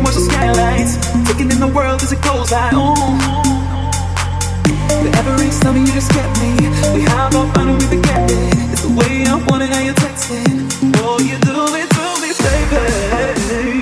watch the skylights, taking in the world as it goes by. Oh, the every summer you just get me. We have our fun and we forget it. It's the way I want it, how you text it. Oh, you do it to me, baby.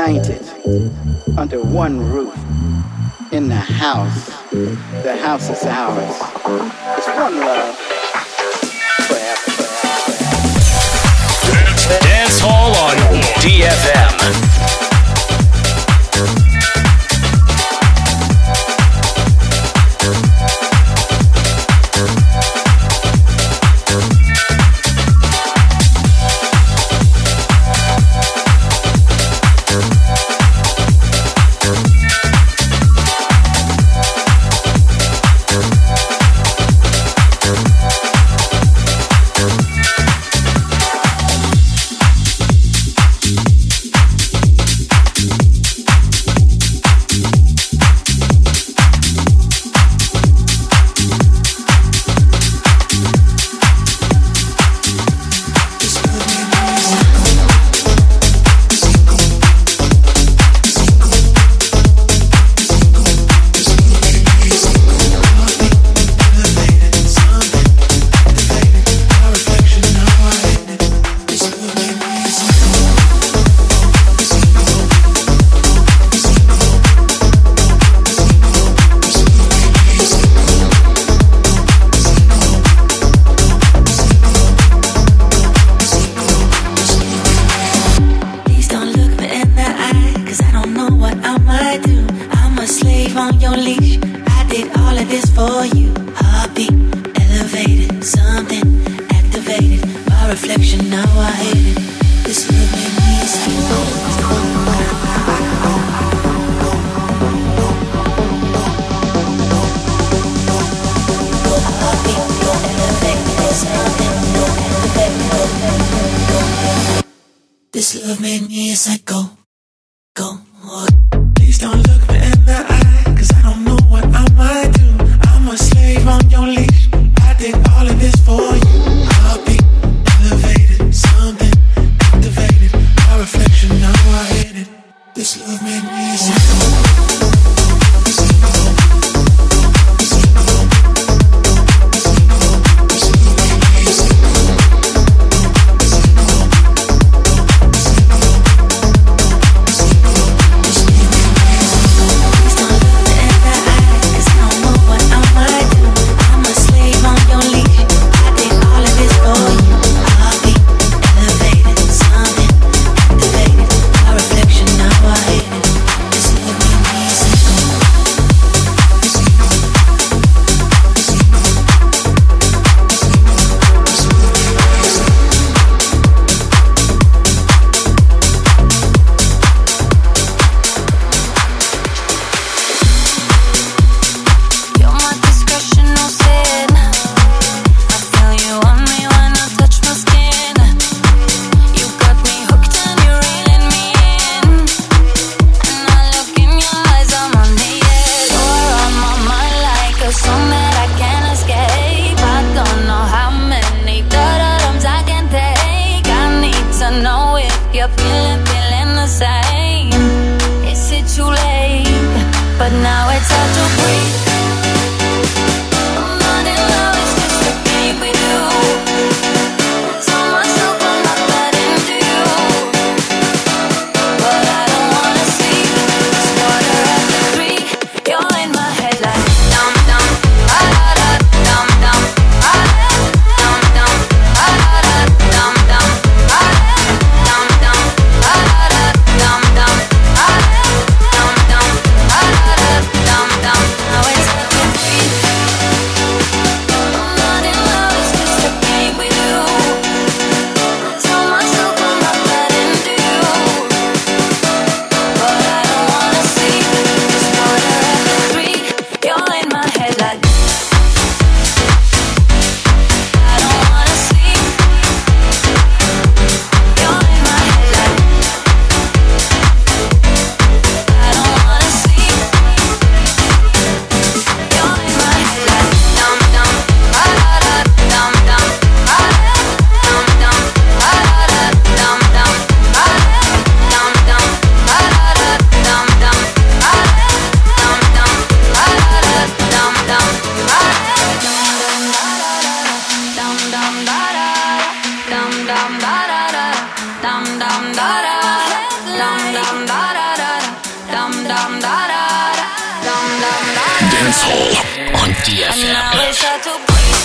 united under one roof in the house. The house is ours. It's one love forever, forever, forever. Dance Hall on D F M. This love made me a psycho. Go. Please don't look me in the eye, cause I don't know what I might do. I'm a slave on your leash. I did all of this for you. I'll be elevated, something activated. My reflection, now I hate it. This love made me a psycho. Dance Hall on ди эф эм.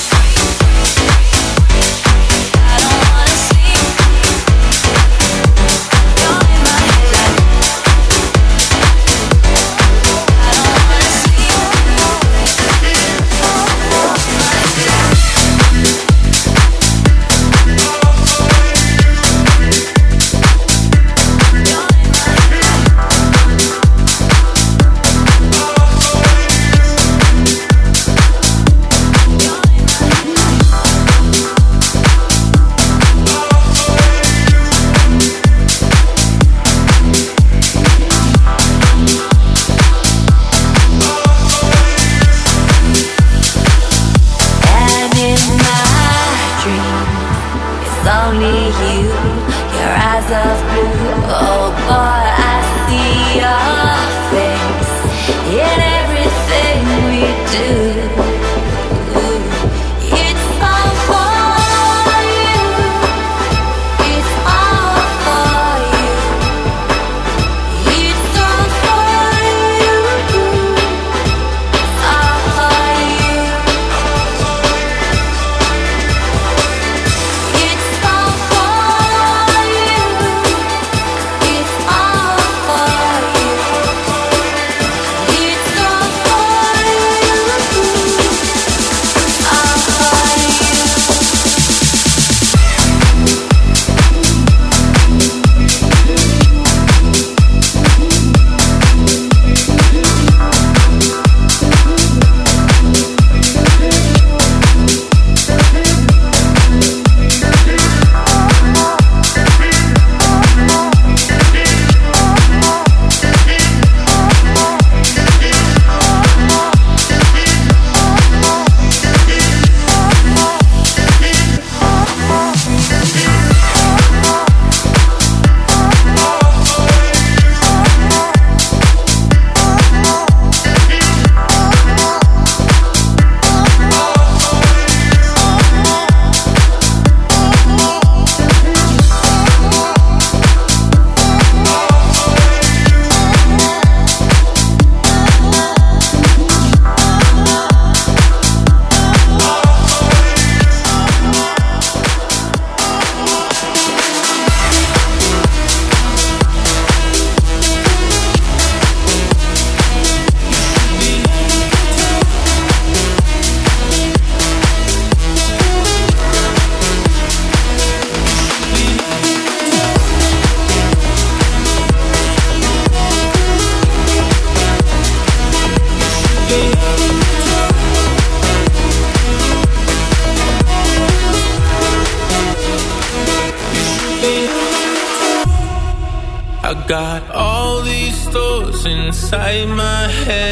Got all these thoughts inside my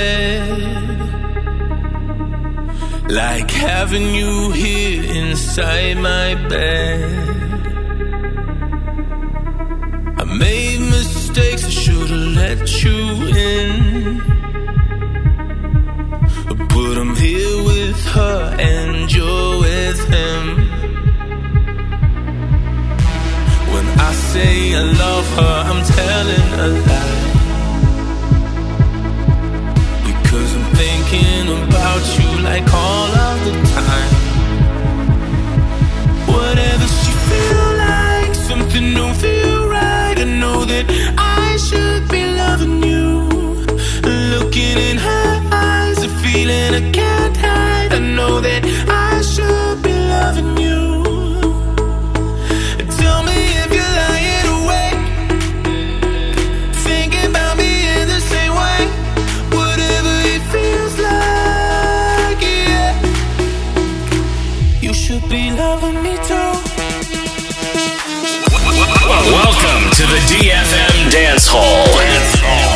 head, like having you here inside my bed. I made mistakes, I should've let you in, but I'm here with her and you're with him. When I say I love her, I'm telling a lie, because I'm thinking about you like all of the time. Whatever she feel like, something don't feel right. I know that I should be loving you. Looking in her eyes, a feeling I can't hide. I know that I should be loving you. Tell me if you're lying awake, thinking about me in the same way. Whatever it feels like, yeah. You should be loving me too. Welcome to the D F M Dance Hall. Dance Hall.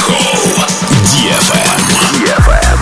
Dancehall ди эф эм. ди эф эм.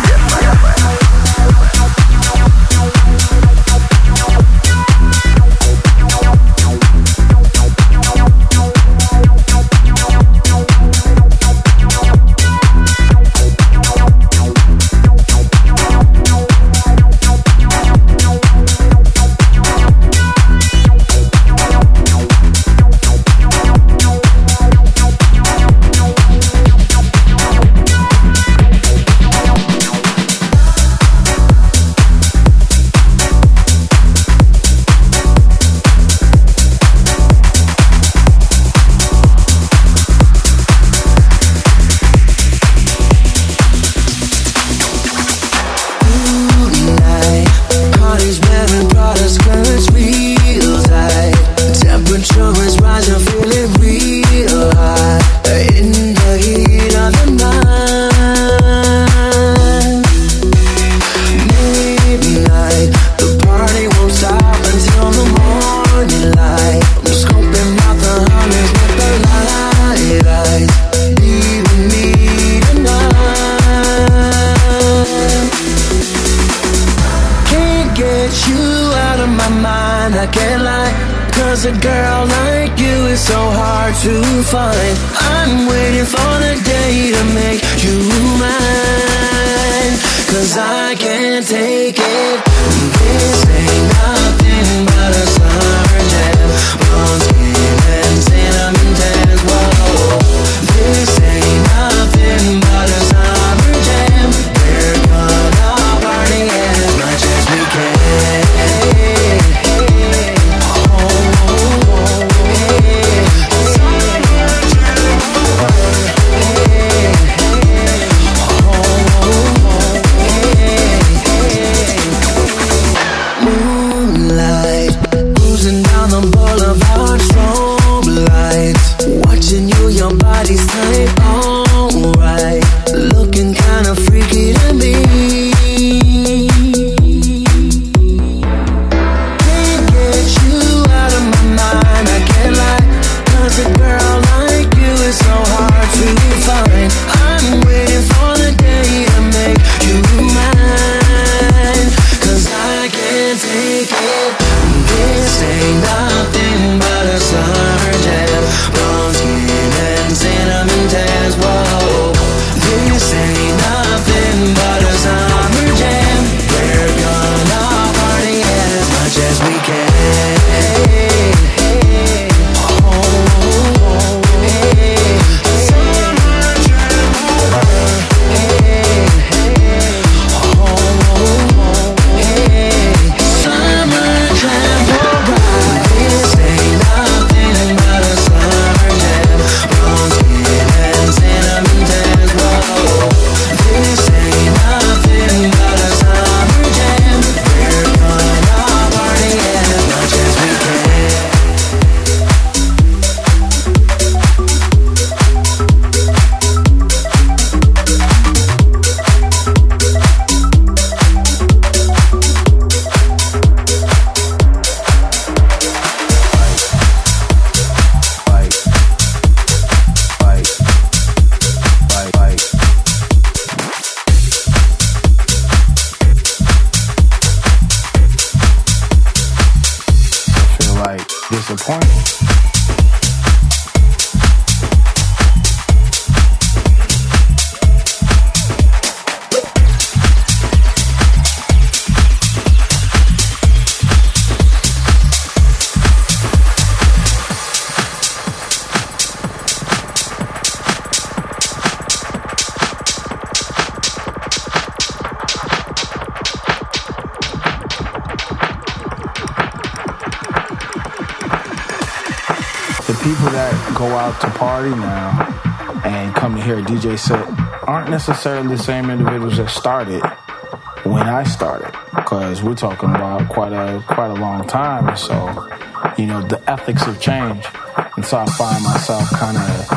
people that go out to party now and come to hear a D J set aren't necessarily the same individuals that started when I started, because we're talking about quite a quite a long time. So, you know, the ethics have changed, and so I find myself kind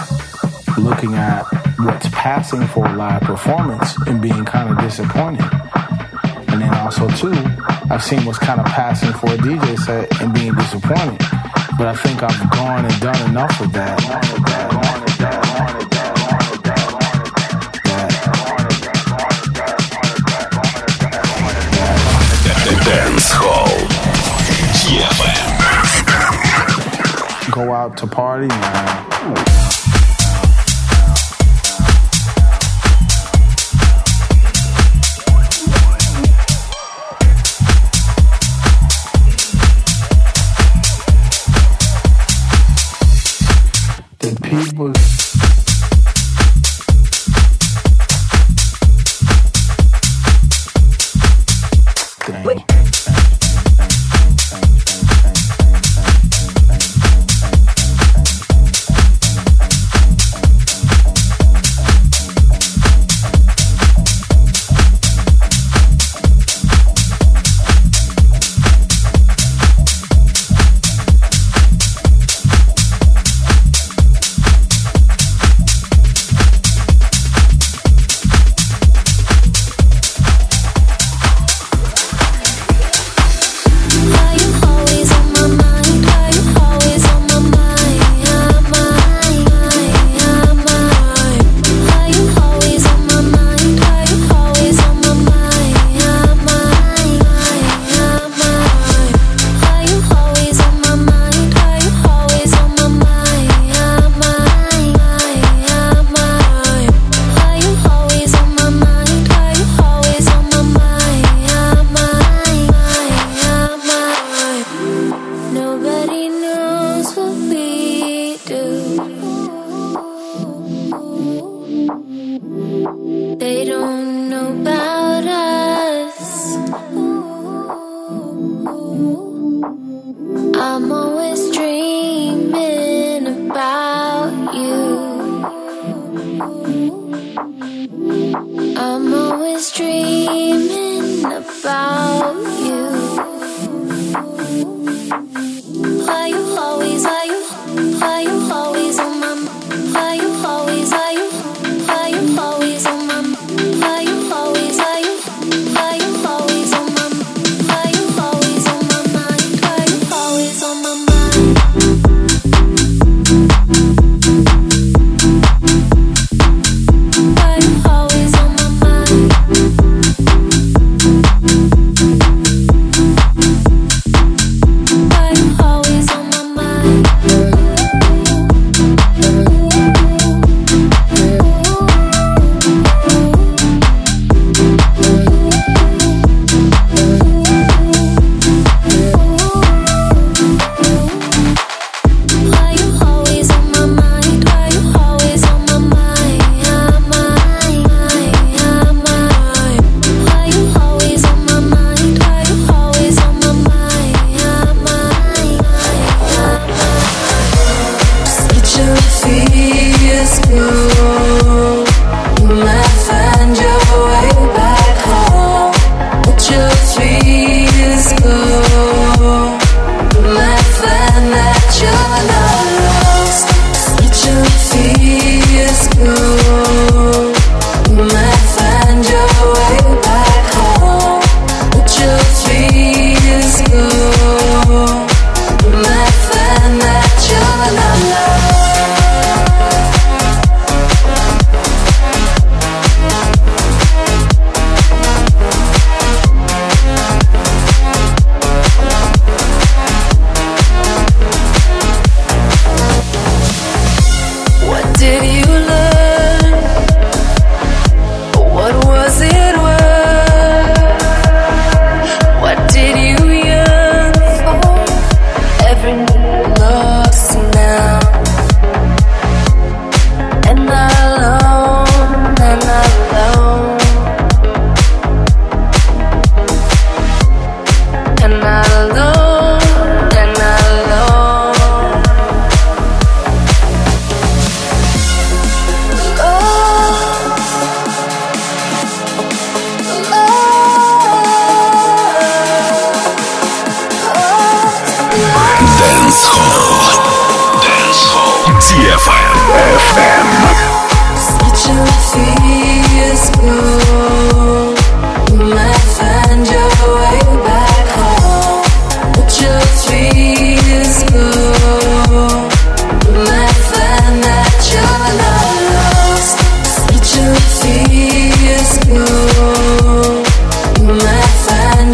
of looking at what's passing for a live performance and being kind of disappointed. And then also too, I've seen what's kind of passing for a D J set and being disappointed. But I think I've gone and done enough of that. go out to party now. People Wait.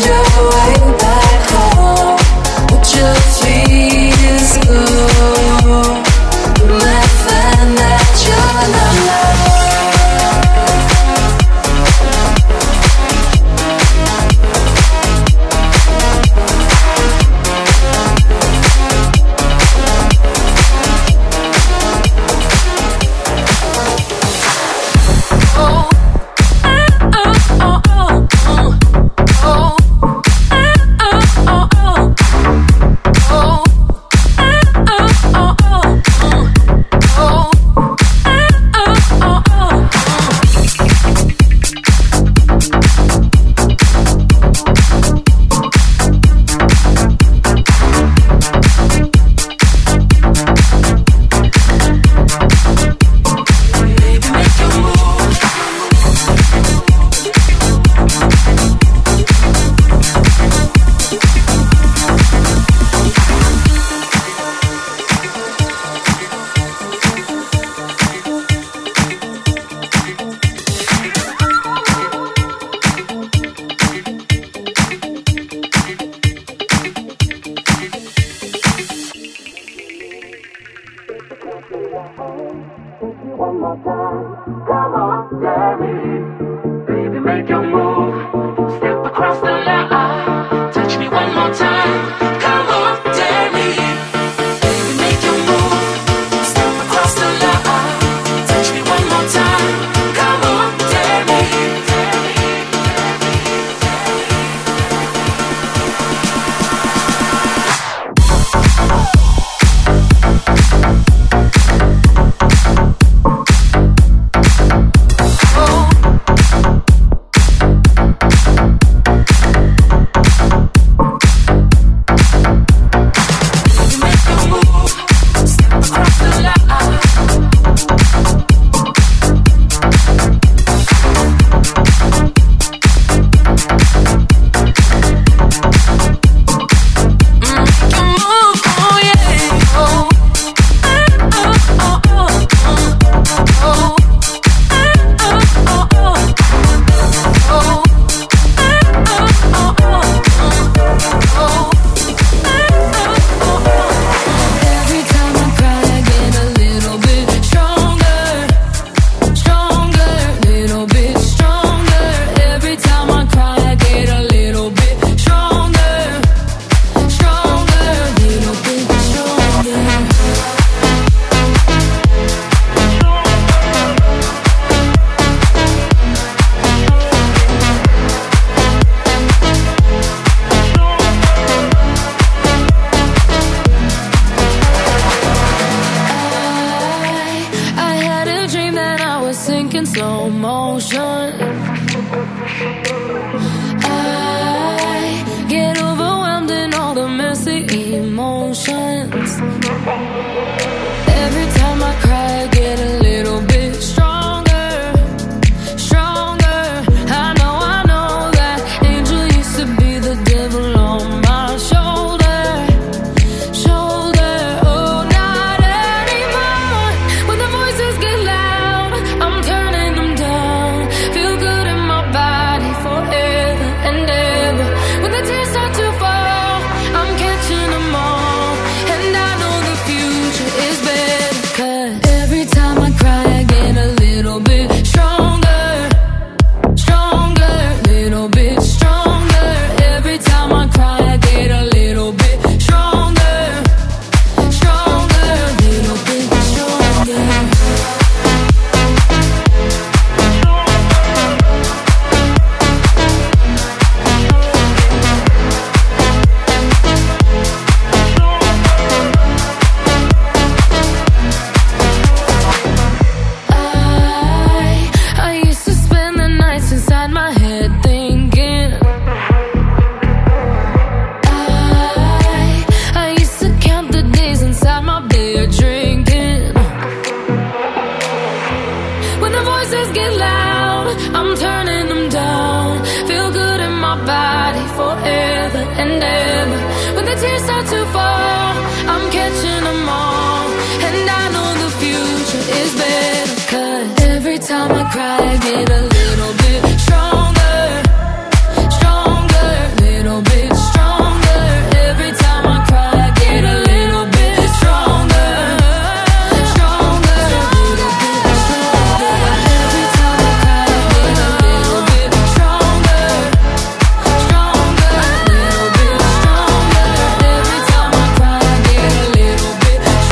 Just feel Come on, dare me. Baby, make your move. Step across the line. Touch me one more time. Come on, dare me. Baby, make your move. Step across the line. Touch me one more time. Come on, dare me.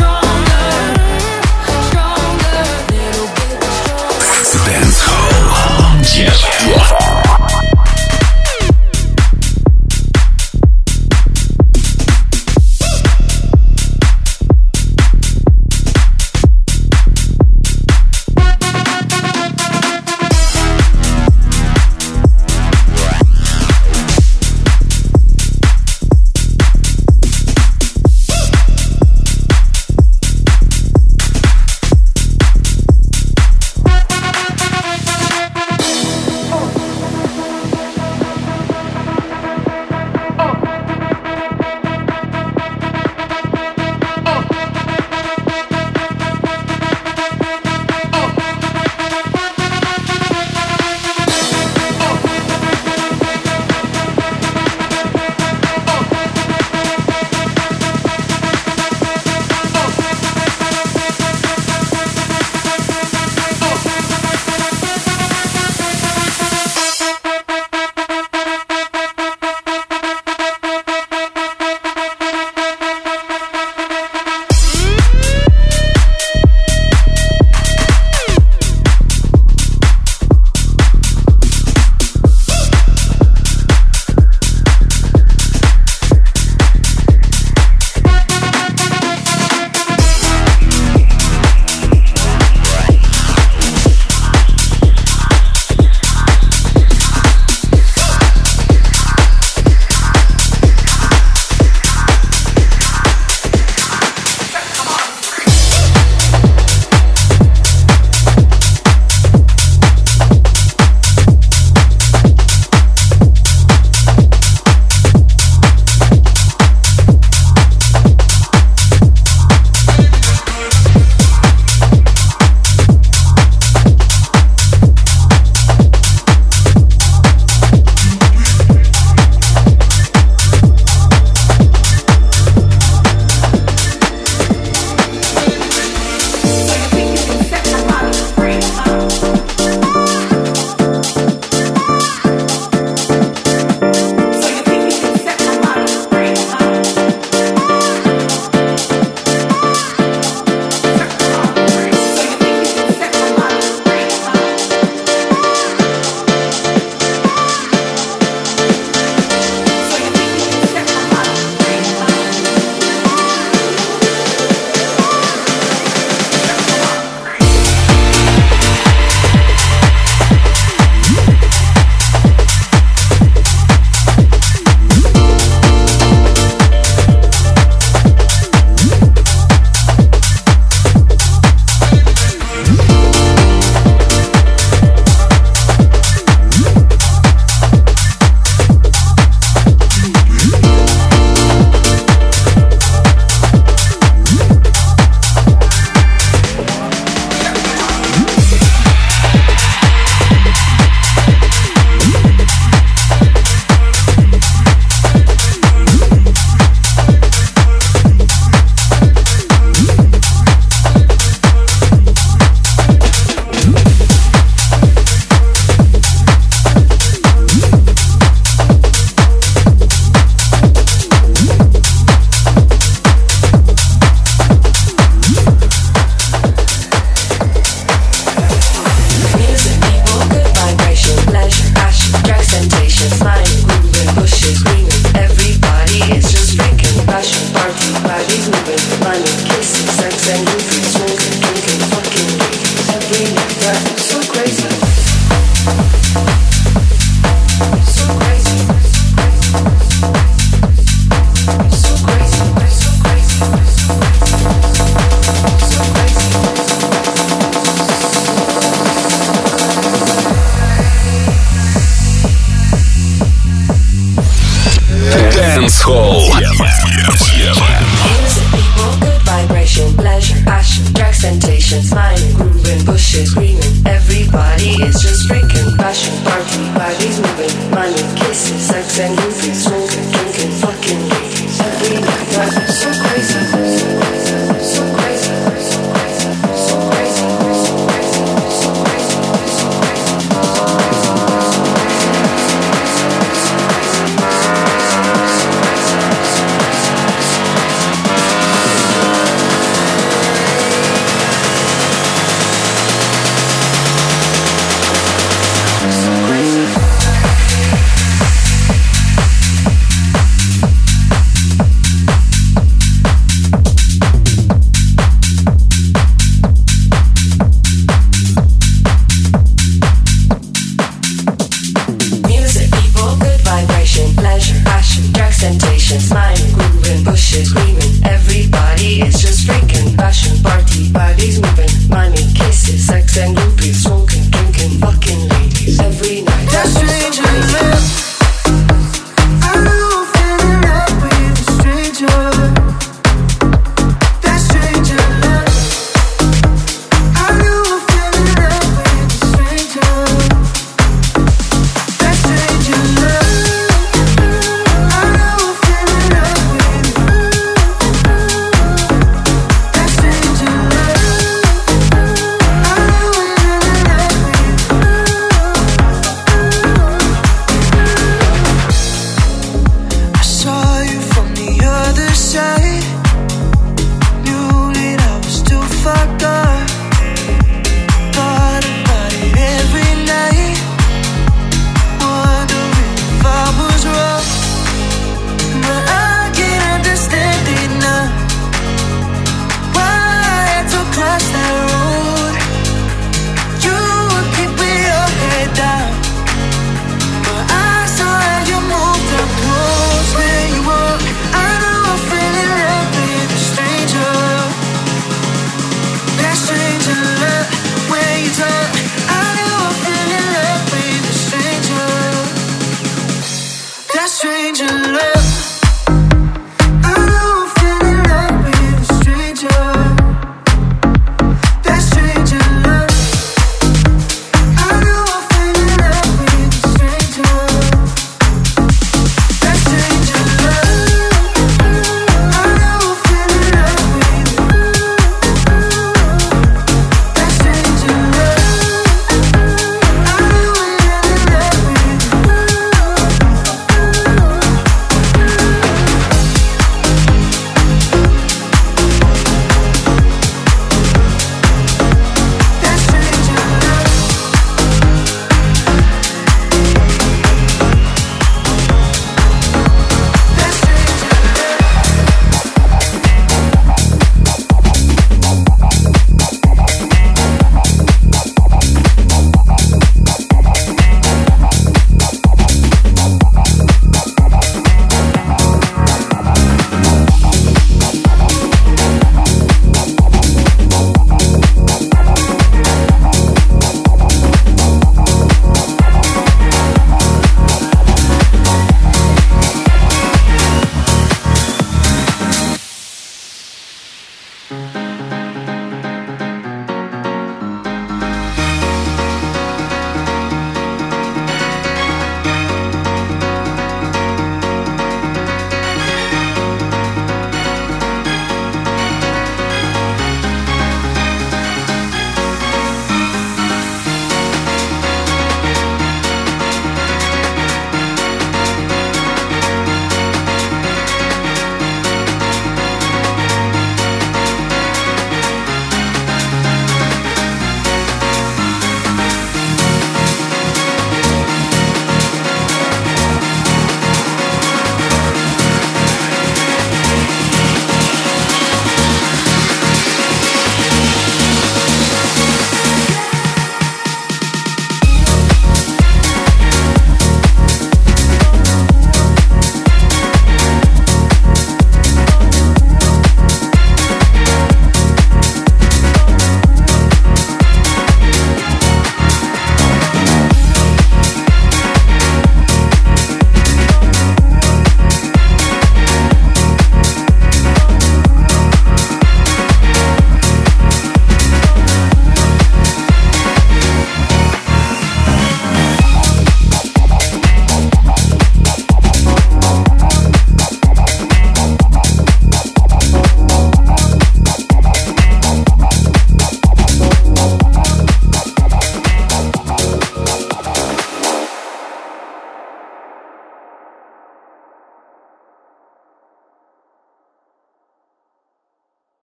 Dancehall Hall. Music, people, good vibration, pleasure, passion, drugs, temptation, smiling, grooving, bushes, screaming. Everybody is just freaking passion, party, bodies moving, money, kisses, sex and movies, smooth.